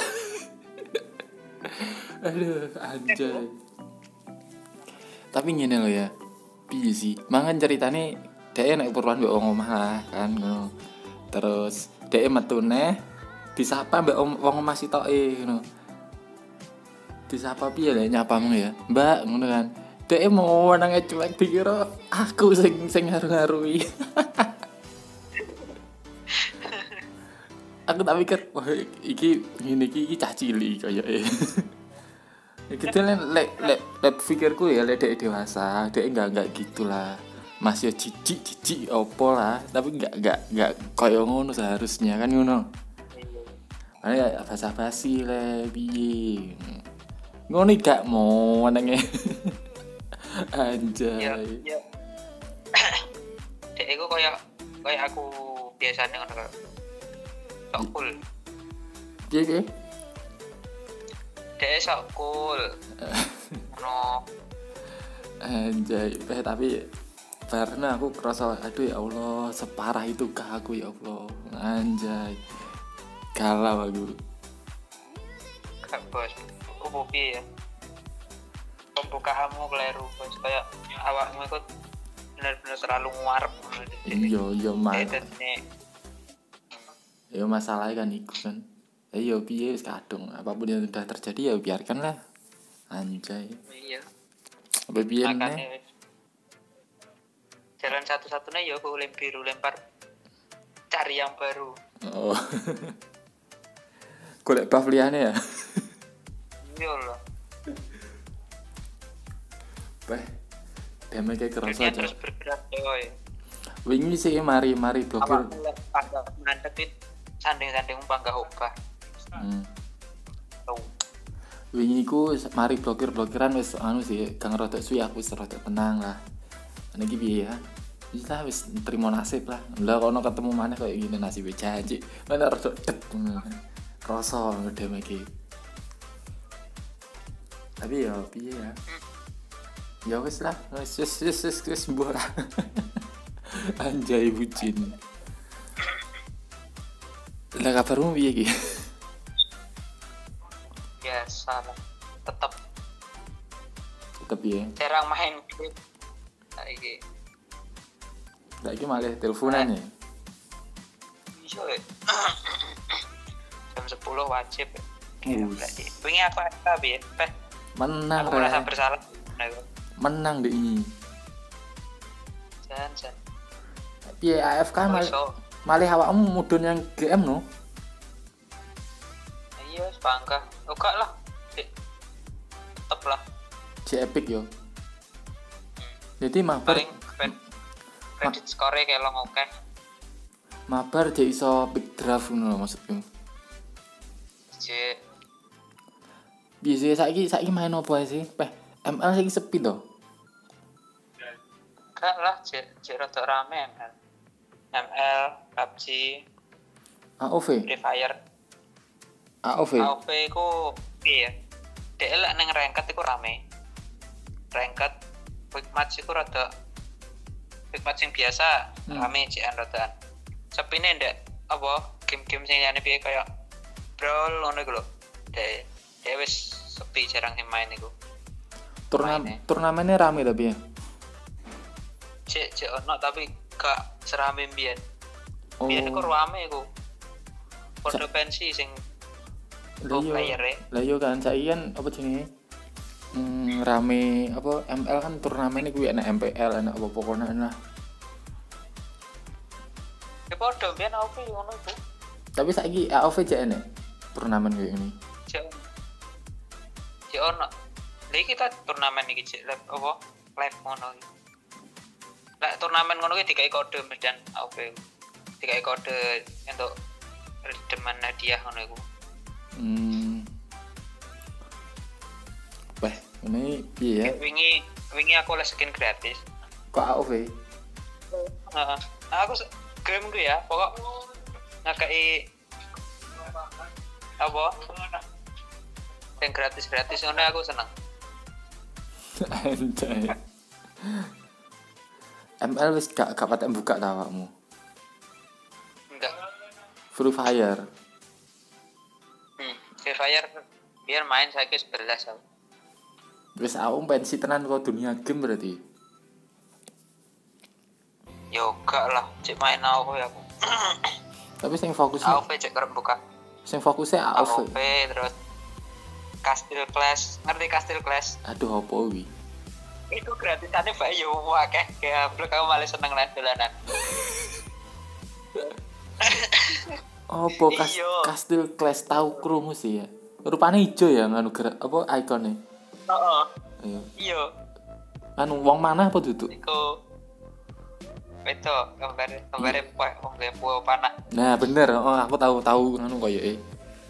Aduh, anjay. Tapi ngene lho ya. Piye sih? Mangan ceritane dhek nek purwan mbek wong omah lah kan ngono. Terus dhek metune disapa mbek wong omah sitoke ngono. Disapa piye lek nyapamu ya? Mbak ngono kan. Dhek mau nang cuek dikira aku sing sing ngaru-ngarui. Aku tak pikir wah iki ngene iki iki cah cilik kayake. Iki lek lek lek lek pikirku ya lek dhek dewasa, dhek enggak enggak gitulah. Masih jijik jijik opo lah, tapi enggak enggak enggak koyo ngono seharusnya kan ngono. Ane ya basa-basi le piye. Ngono gak mau nenge. Anjay. Ya, ya. Dek iku koyo koyo aku biasane ngono kok. Sok cool. Piye piye? Dek sok cool. No. Anjay, eh, tapi karena aku kerasa aduh ya Allah separah itu kah aku ya Allah. Anjay. Galau aku. Kak bos, aku piye ya? Pembukaanmu keliru bos, kayak awakmu itu benar-benar terlalu nguarep. Iya, iya mah. Edetnya. Ya masalahnya kan iku kan. Eh yo piye wis kadung, apapun yang sudah terjadi ya biarkanlah. Anjay. Iya. Apa piye nih? Makanya jalan satu-satunya ya aku lem biru lempar cari yang baru. Oh. Golek buff liyane ya. Iya loh. Beh. Deme kayak kerasa Dunia aja. terus bergerak coy. Wingi sih mari mari blokir. Awak mulai pada mantepin sanding-sanding panggah obah. Hmm. Tuh. Wingi ku mari blokir-blokiran wis anu sih, gang rodok suwi aku wis rodok tenang lah. Ana iki piye ya? Wis lah wis trimo nasib lah. Lah kono ketemu maneh koyo ngene nasib janji. Mana rodok dep. Krasa ngedem iki. Tapi ya piye ya? Ya wis lah, wis wis wis wis wis mbuh lah. Anjay bucin. Lah kabarmu piye iki? Biasa lah. Tetap Tetep ya. jarang main game. Saiki. Saiki malah teleponan ya. Iya. eh. Jam sepuluh wajib. Us. Berarti. Wingi aku ada bi, Peh. Menang Aku merasa re. bersalah. Nah, itu. Menang deh ini. Jan, jan. Piye A F K Oh, mal iso. malih awakmu mudun yang G M no? Iya, sepangka. Oh, gak lah. Dik. Tetep lah. J Epic yo. Hmm. Jadi mabar Paling kred- kredit score kayak lo oke. mabar dia iso pick draft ngono maksudku. J Biasa saiki saiki main opo ae sih? Peh M L saiki sepi to. gak lah, J J rada rame M L. M L, P U B G, A O V, Free Fire. A O V. A O V ku piye? Dek lek ning ranked iku rame. Ranked quick match iku rada quick match sing biasa Hmm. rame jikan radaan. Sepine ndek apa game-game sing liyane piye kaya Brawl ngono iku lho. Dek dek wis sepi jarang sing main iku. Turnamen main, eh. turnamennya rame tapi ya. Cek cek ono tapi gak serame mbiyen. Oh. Biyen iku rame iku. Podo pensi sing Lah pro yo. player e. Lah yo kan saiki kan apa jenenge? Hmm, rame apa M L kan turnamen iku enak M P L enak apa pokoknya enak. Ya podo mbiyen A O V ngono iku. Tapi saiki A O V jek enek turnamen kayak gini. Cek cek ono. Lha kita turnamen iki cek live apa? Live ngono iki. Lah turnamen ngono iki dikai kode medan A O V. Dikai kode untuk redeeman hadiah ngono iku. Hmm. Wah, ini piye ya? Wingi wingi aku oleh skin gratis. Kok A O V? Heeh. Aku se- game ku ya, pokok ngakai apa? Yang gratis-gratis ngono aku seneng. Anjay. M L wis gak gak patek buka ta awakmu. Enggak. Free Fire. Hmm. Free Fire biar main saiki sebelas aku. Wis aku pensi tenan kok dunia game berarti. Yo gak lah, cek main A O V aku. Tapi sing fokusnya A O V cek kerep buka. sing fokusnya A A O O V. V terus Castle Clash, ngerti Castle Clash? Aduh apa wi? Itu gratisannya bae yo akeh, kayak blok aku malah seneng lah dolanan. Apa kas Iya. Castle Clash tahu krungu sih ya. Rupane ijo ya nganu gerak apa ikone. Heeh. Iya. Iya, Anu wong mana apa duduk? iku itu gambar gambarnya poe wong dia poe panah. Nah, bener. Oh, aku tahu tahu nganu koyoke.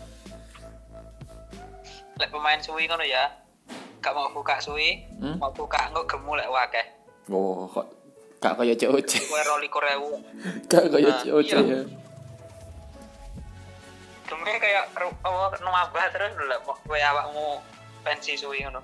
Lek pemain suwi ngono ya. Gak mau buka suwi, Hmm? mau buka engko gemu lek akeh. Oh, kok gak kaya C O C. Kowe roli korewu. Gak kaya Nah, C O C iya. ya. Geme kayak ru- apa numabah terus lho lek kowe awakmu pensi suwi ngono.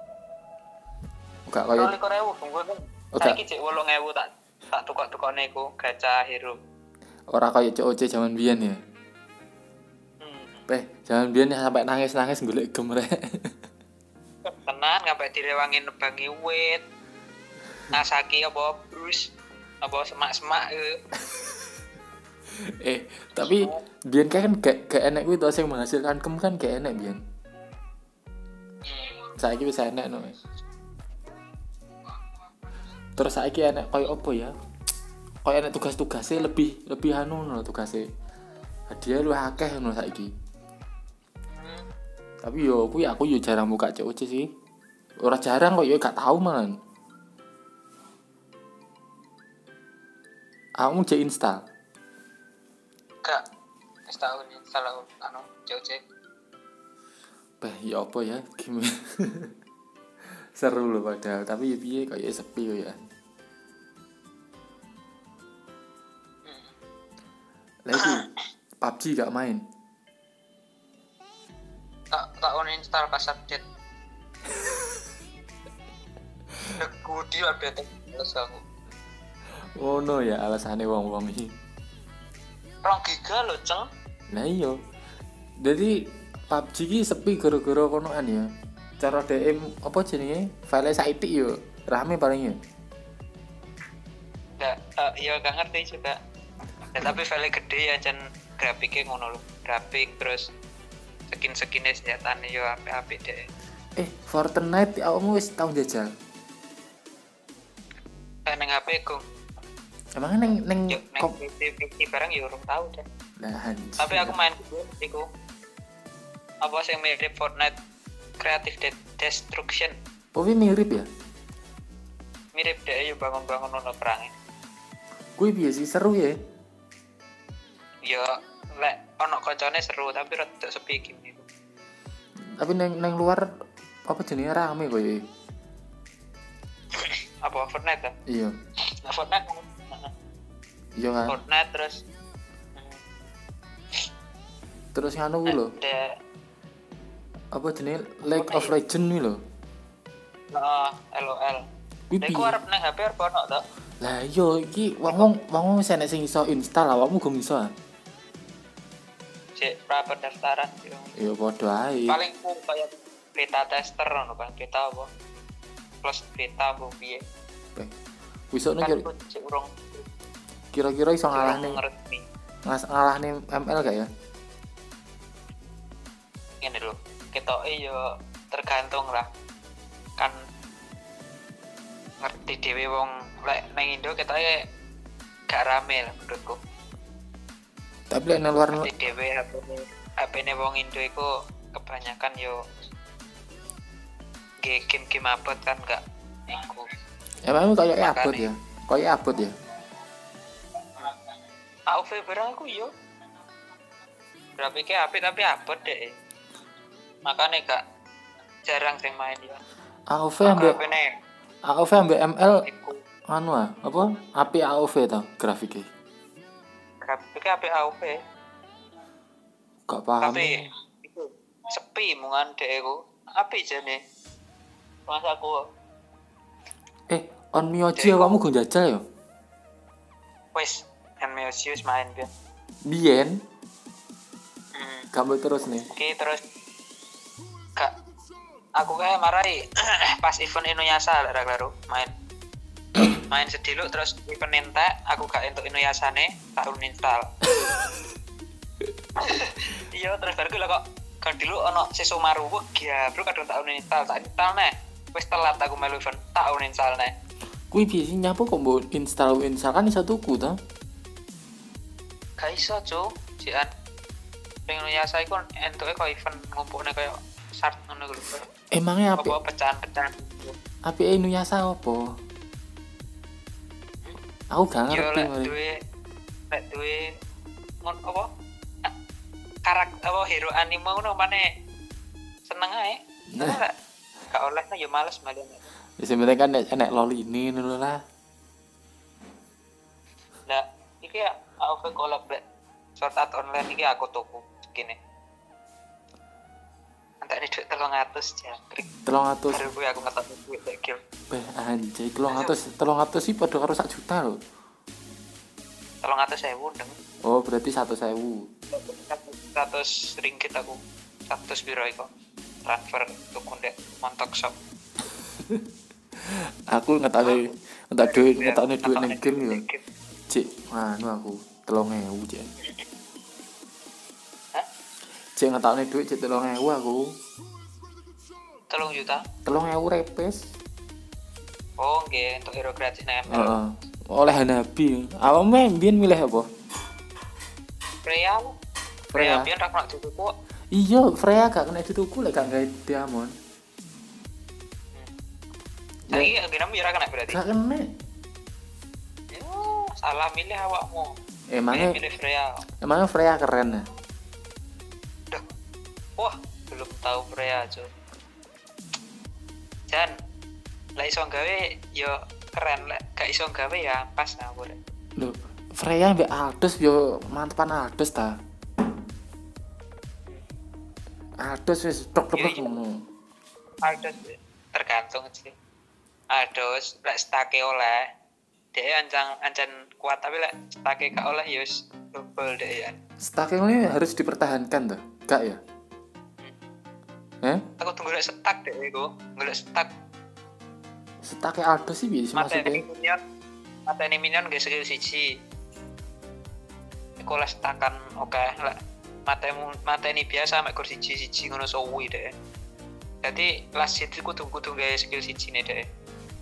Gak kaya Roli korewu gemu kan. Oh, gak. Saiki cek wolung ewu tak tak tukok-tukokne iku gacha hero. ora kaya C O C zaman biyen ya. Hmm. Peh, zaman biyen ya sampai nangis-nangis golek gem rek. Tenan sampai direwangi nebangi wit. Nasaki apa Bruce apa semak-semak e. eh, tapi biyen kan gak gak enek kuwi to sing menghasilkan gem kan gak enek biyen. Hmm. Saiki wis enek no. Terus saiki enek koyo apa ya? Koyo enek tugas-tugasnya lebih lebih anu no tugasnya. Hadiah lu akeh no saiki. Hmm. Tapi yo kuwi aku yo jarang buka C O C sih. Ora jarang kok yo gak tau malan. Aku cek install. Gak wis tau nih salah anu C O C. Bah, ya apa ya? Gimana? Seru loh padahal, tapi ya piye kayak sepi yo ya. Lagi P U B G gak main. Tak tak uninstall pas update. Aku di update terus aku. Oh no ya alasannya wong-wong iki. Rong giga lho, Ceng. Nah iya. Jadi P U B G iki sepi gara-gara konoan ya. Cara D M apa jenenge? File saiki yo rame paling ya. Enggak, uh, ya gak ngerti juga. Ya, tapi file gede ya jan grafiknya ngono lho. Grafik terus skin-skinnya senjatane yo apik-apik deh. Eh, Fortnite awakmu wis tau jajal. Eh nang H P ku. Emang neng neng Yo nang kop P C P C barang yo urung tau deh. lah anjir. Tapi aku main iku. Apa sing mirip Fortnite Creative De- Destruction. Oh, ini mirip ya? Mirip deh yo bangun-bangun ono perangnya. Gue biasa seru ya. Ya lek ono koncone seru tapi rada sepi game iku. Tapi neng neng luar apa jenenge rame koyo. ya. Apa Fortnite kan? Iya. Nah, Fortnite. Iya kan. Fortnite terus Terus nganu kuwi lho. ada Apa jenenge League of Legends kuwi lho. uh, L O L. Kuwi Nek ku piye? arep nang H P arep ono to. Lah iya iki wong-wong wong wis enek sing iso install awakmu gum iso. ah? Cek pra pendaftaran yo. Ya padha ae. Paling ku kayak beta tester ngono kan, beta apa? Plus beta apa piye? Eh, Wis ono Kan kira- ku cek urung kira-kira iso urung ngalahne ngerti. ngas- ngalahne M L gak ya? Ngene lho, ketoke yo tergantung lah. Kan ngerti dhewe wong lek nang Indo ketoke gak rame lah menurutku. Tapi lek nang luar Ngerti dhewe H P-ne H P-ne wong Indo iku kebanyakan yo ge- game-game abot kan gak iku. emang kayak Makanya. abot ya. Kayak abot ya. A O V barang aku yo. Grafiknya apik tapi abot deh. Makanya gak jarang sing main ya. A O V ambek H P-ne A O V ambek M L iku anu ah, apa? Api A O V to grafiknya. grafiknya apik A O V. Gak paham. Tapi itu sepi mungan dek iku. Apik jane. Mas aku Eh, on Mioji awakmu go jajal ya? wis Amnesis main biar. Biyen Hmm. kamu terus nih. Oke terus kak aku kayak marai pas event Inuyasha lah lalu main main sediluk terus event entek aku gak entuk Inuyasane tak uninstall. Iya terus baru lah kok kan dulu ono Sesomaru kok ya bro kadang tak uninstall tak install neh wis telat aku melu event tak uninstall neh. Kuwi biasanya nyapu kok mbok install install kan iso tuku to? Gak iso cuk jian pengen Inuyasha iku entuke kok event ngumpulne koyo shart ngono lho. Emangnya api apa pecahan-pecahan api Inuyasha apa? Aku gak yo ngerti lek mari. duwe lek duwe ngon apa karakter apa hero anime ngono maneh seneng ae. Nah, gak oleh nah yo males malah. Ya sebenarnya kan nek nek loli ini ngono lah. Nah, iki ya aku collab Black Sword Art Online iki aku tuku segini. Antek duit telung atus jangkrik. telung atus. Baru gue aku ngetok duit lek game. Beh anjay telung atus telung atus sih padha karo sak juta lho. telung atus ribu deng. Oh, berarti seratus ribu. seratus ringgit aku. seratus biro iku. Transfer tuku ndek Montok Shop. Aku ngetake ngetak duit ngetakne duit Ngetokne ning game yo. ning game. Cik, anu aku telung ewu cik. Hah? Cik ngetakne duit cik telung ewu aku. telung juta. telung ewu repes. Oh, nggih untuk hero gratis nang M L. Heeh. Oleh Hanabi. Awakmu mbiyen milih apa? Freya. Freya. Freya biyen ra kena dituku. Iya, Freya gak kena dituku lek gak gawe diamond. Saiki akhirnya yo ra kena berarti. Gak kena. Yo, salah milih awakmu. Emangnya milih Freya. emangnya Freya keren ya? Duh. Wah, belum tahu Freya, Cuk. Jan, lek iso gawe yo keren, lek gak iso gawe ya pas nah boleh. Loh, Freya mbek Aldos yo mantepan Aldos ta. Aldos wis tok-tok ngono. Aldos tergantung sih. Aldos lek stake oleh dhek ancang ancen kuat tapi lek stake gak oleh yo wis double dhek ya. Stake ini harus dipertahankan tuh, gak ya? Eh? Aku tunggu lek stak dhek iku, golek stak Stake Aldos sih bisa mateni maksudnya. minion. Mateni minion nggih skill siji. Iku lek stakan oke lek matemu mateni biasa mek kur siji-siji ngono suwi dhek. Jadi last hit iku kudu gawe skill siji ne dhek.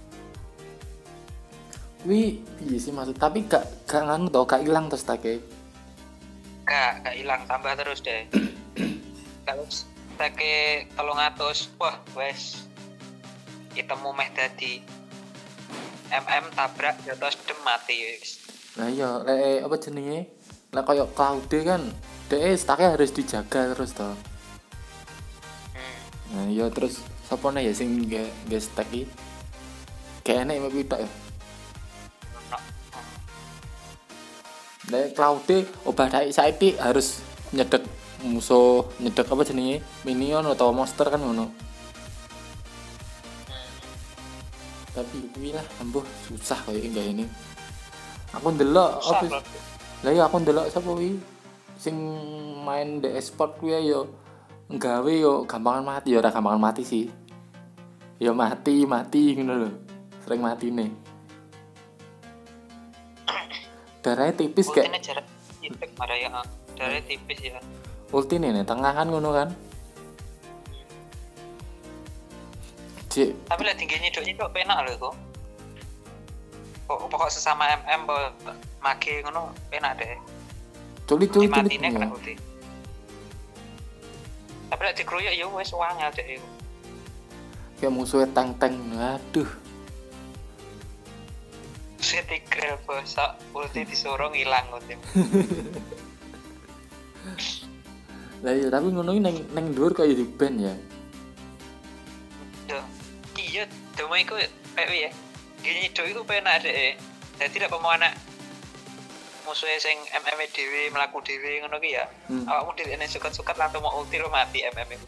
Wih, iya sih maksud tapi gak gak nganu tau, gak hilang terus stake. Gak, gak hilang tambah terus deh. Kalau stake telung atus, wah wes itemu meh dadi M M tabrak jotos dem mati wis. Nah iya, lek apa jenenge? Lek koyo Cloud kan, dhek stake harus dijaga terus toh. Hmm. Nah iya terus sapa nih ya sing nge nge stack iki? Kayak enek mek pitok ya. No. Lek Cloud obah dai saiki harus nyedek musuh, nyedek apa jenenge? Minion atau monster kan ngono. Tapi kuwi lah ambuh susah koyo enggak ini. Aku ndelok Susah, apa Bro. lah ya aku ndelok sapa kuwi sing main di e-sport kuwi yo nggawe yo gampangan mati yo ora gampangan mati sih. Yo mati, mati ngono lho. Sering matine. Darahnya tipis kayak Ultine jarak titik marah ya. Darahnya tipis ya. ultine nih tengah kan ngono kan. Cik, Tapi lah tingginya nyiduk nyiduk penak lho iku. Pokok pokok sesama M M bo mage ngono penak deh. culik-culik culik. Matine kena ulti. Tapi lek dikroyok ya wis wangel deh iku. Kayak musuhnya tank-tank. Aduh. Setigre bosok ulti disuruh ngilang ulti. Lah iya tapi ngono iki neng neng dhuwur kaya di band ya. Yo, iya, cuma iku P W ya. Gini do iku penak deh. Jadi nek pemain anak musuhnya sing M M dhewe mlaku dhewe ngono ki ya. Hmm. Awakmu dhewe nek suket-suket langsung mau ulti lo mati M M iku.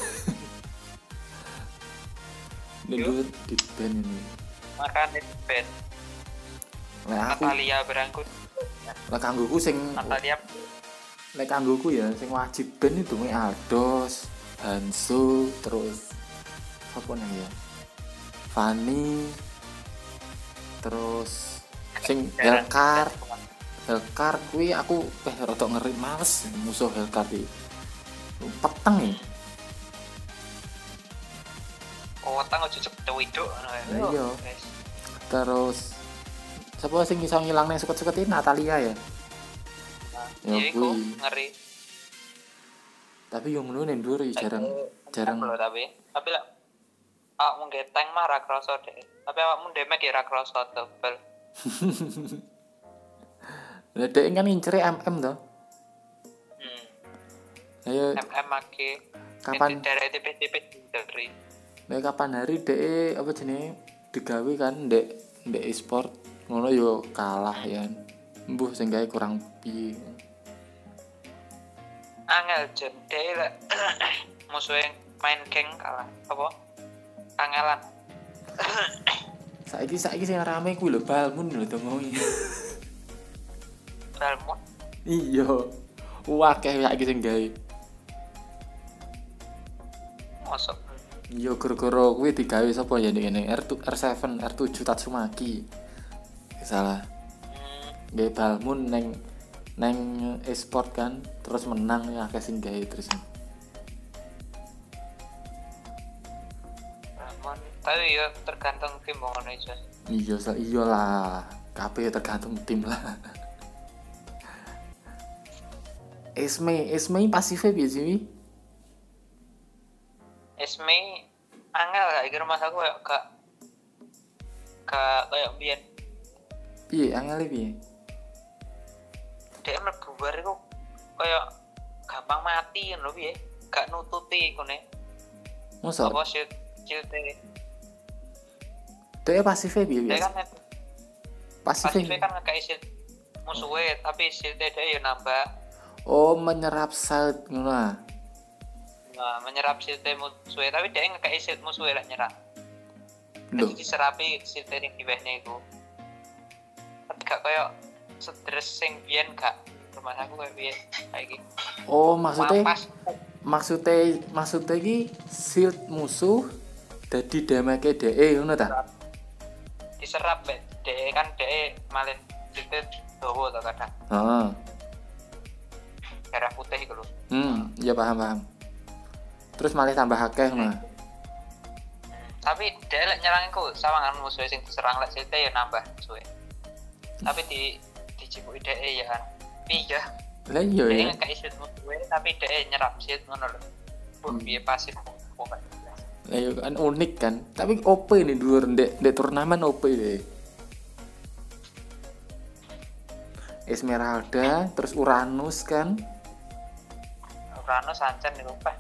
Neng dhuwur di band ini. Makane ben Lah aku Natalia berangkut. lah kanggoku sing Natalia lek kanggoku ya sing wajib band itu mek Aldos, Hanzo, terus apa nang ya? Fanny. Terus sing Jarang. Hellcard, Hellcard kuwi aku peh rada ngeri males musuh Hellcard iki. Peteng ya. Oh, tang ojo cepet widok ngono ya. Iya. Guys. Terus sapa sing iso ngilangne suket-suket iki Natalia ya. Ya Iya iku kuwi. ngeri. Tapi yo ngono nek ndur jarang jarang. Lho, tapi tapi lah awakmu nge tank mah ra kroso deh. Tapi awakmu damage ya ra kroso tebel. Lah dek kan incere M M to. Hmm. Ayo M M ake kapan dari T P T P dari Nek kapan hari dek apa jenenge digawe kan dek dek e-sport ngono yo kalah ya. Mbuh sing gawe kurang piye. angel jen deh lah musuh yang main geng kalah apa angelan. Saiki saiki sing rame kuwi lho Balmun lho ngomongi. Balmon Iya. Wakeh saiki sing gawe. masuk Iya gara-gara kuwi digawe sapa ya ngene R tujuh R tujuh R tujuh Tatsumaki. Salah. hmm, Gawe Balmun neng neng e-sport kan terus menang ya akeh sing gawe terus. Balmon tapi ya tergantung tim ngono aja. Iya sa iyalah. Kabeh tergantung tim lah. Esme, Esme pasifnya piye sih? Esme angel gak iki rumah aku kayak gak gak kayak biyen Piye angel piye? dia mlebu bar iku kayak gampang mati ngono piye gak nututi kene Masa? apa shield shield Dia pasifnya piye dia biasa? kan Pasifnya. pasifnya kan ngekei shield musuhnya tapi shieldnya dia ya nambah. Oh menyerap shield ngono ah. Nah, menyerap shieldnya musuhnya tapi dia ngekei shield musuhnya lah nyerang. Loh. Jadi diserapi shieldnya yang di bawahnya itu. Tapi gak kayak stres sing biyen gak rumah aku kayak biyen kayak gitu. Oh maksudnya Mampas. maksudnya maksudnya iki shield musuh dadi damage dhek ngono ta? Diserap be de kan de malin shieldnya dawa to kadang. Heeh. Merah putih iku lho. Hmm, ya paham paham. Terus malah tambah akeh ngono. Tapi dia lek nyerang iku sawangan musuh sing diserang lek shieldnya ya nambah musuhnya. Tapi di dicipuki dhek ya kan. Iya. Lah iya ya. Dia ngekei shield musuhnya tapi dia nyerap shield ngono lho. Buh piye pasif pokoknya. Lah iya kan unik kan. Tapi O P nih dhuwur ndek ndek turnamen O P deh. Esmeralda, terus Uranus kan. Uranus Sancen niku Pak.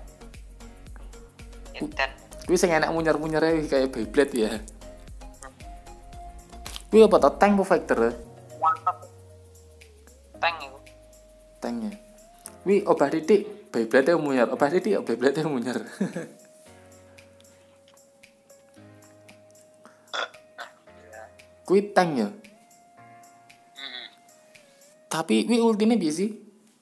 Dan Kuwi sing enak munyer-munyere kayak Beyblade ya. Kuwi apa to tank apa fighter? mantap. Tank iku. Tanknya. Kuwi obah titik Beyblade munyer, obah titik Beyblade munyer. Kuwi tank ya. Heeh. Tapi kuwi ultine piye sih?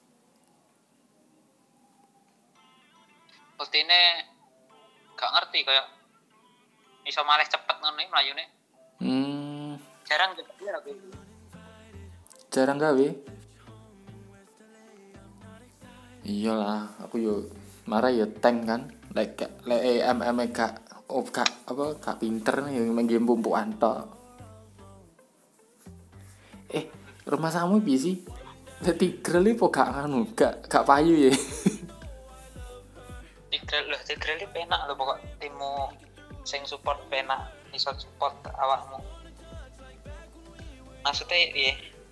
Ultine gak ngerti kayak iso malih cepet ngono iki mlayune. Hmm, Jarang gitu aku. jarang gawe. Iyalah, aku yo marah ya tank kan. Lek lek M M gak oh gak apa gak pinter nih yang main game pumpukan tok. Eh, rumah samu piye sih? Lek Tigreal iki kok gak anu, gak gak payu ya. Tigreal lho, Tigreal iki penak lho pokok timmu sing support penak iso support awakmu. Maksudnya piye?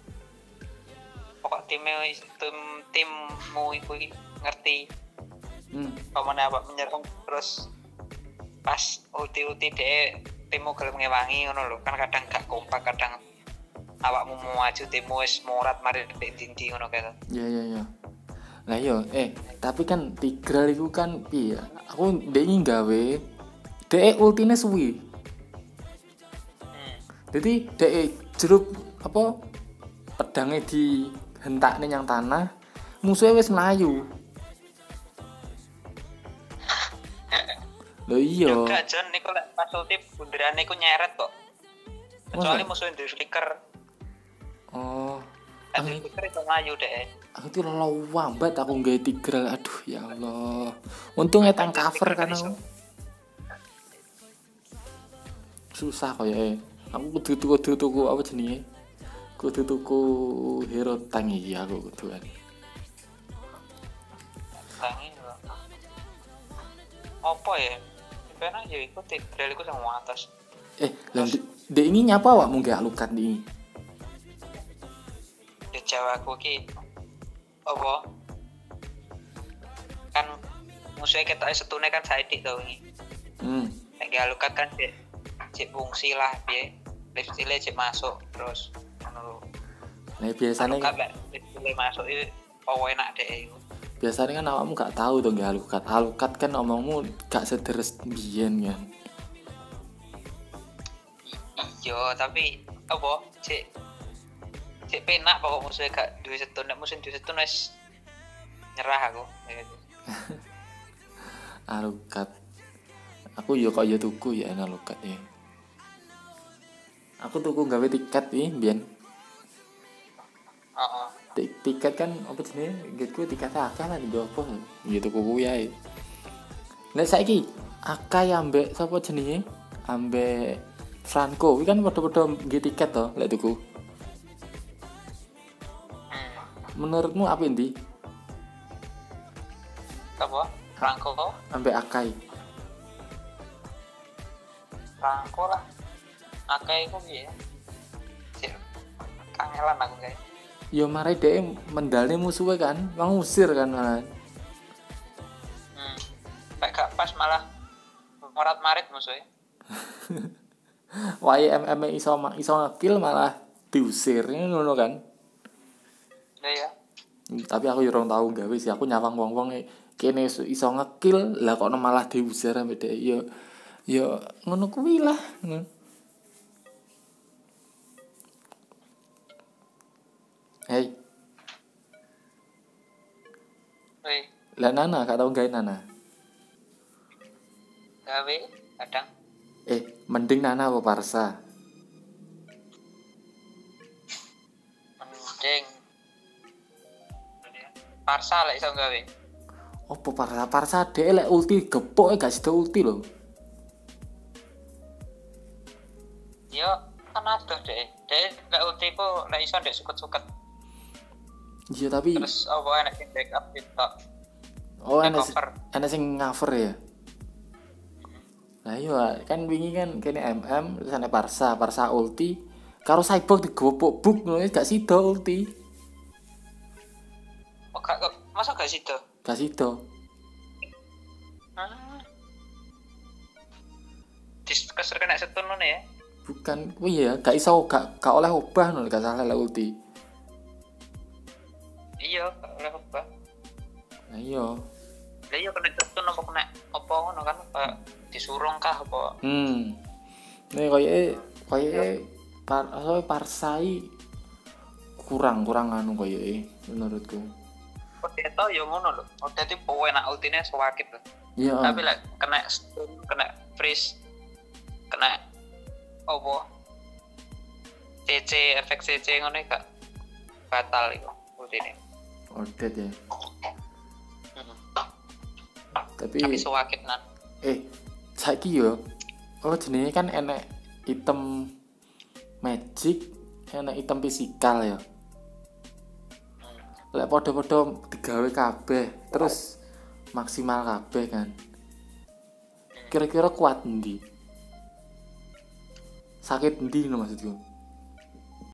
Pokok timnya tim timmu iku ngerti Hmm. pamane apa menyerang terus pas ulti-ulti deh timmu gelem ngewangi ngono lho. Kan kadang gak kompak, kadang awakmu mau maju timmu wis morat mari ndek dindi ngono kae. Ya ya ya. Lah yo, eh tapi kan Tigreal iku kan piye? Aku ndek iki gawe dhek ultine suwi. Hmm. Jadi dhek jeruk apa pedangnya dihentakne yang tanah, musuhnya wis melayu. Lho iya. Gak Jon niku lek pas ulti bunderane iku nyeret kok. kecuali Masa? musuhin di flicker. Oh, Kan aku di flicker itu ngayu deh. aku tuh lawambat aku nggak tigral. Aduh ya Allah. Untung etang Di cover flicker kan iso. aku. Susah kayaknya. Aku kudu kudu tuku apa jenenge? Kudu tuku hero tank iki aku kudu kan. Tangi kok. Apa ya? Pena ya iku tigral iku sing atas. Eh, lah dek ini nyapa awak mau gak lukat ini? Di Jawa aku ki apa? Kan musuhnya kita setune kan saidik tau ini. Hmm. Nek galukat kan cek cek fungsi lah piye. Lifestyle cek masuk terus ngono. Nah, biasanya Kan lek lifestyle masuk iki apa enak deh. biasanya kan awakmu gak tahu tuh gak alukat. Alukat kan omongmu gak sederes biyen kan. Iya, tapi apa cek cek penak pokok musuhnya gak duwe setun, nek musuh duwe setun wis nyerah aku. Alukat. Aku yo kok yo tuku ya enak alukat ya. Aku tuku gawe tiket nih biyen. Heeh. Tik- tiket kan apa jenenge? Gitu tiketnya akeh lah di opo. Gitu tuku kuwi ae. Nek saiki Akai ambek sapa jenenge? Ambek Franco, kuwi kan padha-padha nggih tiket to lek tuku. Hmm. Menurutmu apa ndi? Apa? Franco, Ambek Akai. Franco lah. Akeh iku piye? Cek kangelan aku kayak. Yo mare dhek mendalne musuhe kan, ngusir kan malah. Hmm. Kayak gak pas malah morat-marit musuhnya. Wae M M iso iso ngekill malah diusir ngono kan. Ya ya. Tapi aku yo ora tau gawe sih, aku nyawang wong-wong kene iso iso ngekill lah kok malah diusir ambek dhek. Yo yo ngono kuwi lah. Hei, Woi, lah Nana gak tau gawe Nana. gawe kadang Eh, mending Nana apa Parsa? mending Parsa lah iso gawe. Opo Parsa? Parsa dhek lek ulti gepok gak sida ulti lho. Yo kan adoh deh. Deh gak ulti ku nek iso ndek suket-suket. Iya tapi Terus apa enak sing backup gitu. oh Di enak cover. enak sing cover ya. Nah iya kan wingi kan kene M M terus ana Parsa, Parsa ulti karo Cyborg digopok buk ngono gak sida ulti. Oh, gak, gak, masa gak situ? Gak sida. Hmm. Dis keser kena setun ngono ya. Bukan kuwi ya, gak iso gak gak oleh obah ngono gak salah lek ulti. Iya, gak oleh apa. Nah iya. Lah iya kena setun apa kena apa ngono kan kayak disurung kah apa. Hmm. Nih koyoke koyoke par aso Parsai kurang kurang anu koyoke menurutku. Kok itu ya ngono lho. Oh dadi powe enak ultine sewakit lho. Iya. Tapi lek kena stun, kena freeze, kena apa? C C efek C C ngono gak batal iku ultine. Ordet ya. Hmm. Tapi Tapi sewakit nan. eh saiki yo oh jenenge kan enek item magic, enek item fisikal ya. Lek padha-padha digawe kabeh terus maksimal kabeh kan. Kira-kira kuat endi? Sakit endi ngono maksudku?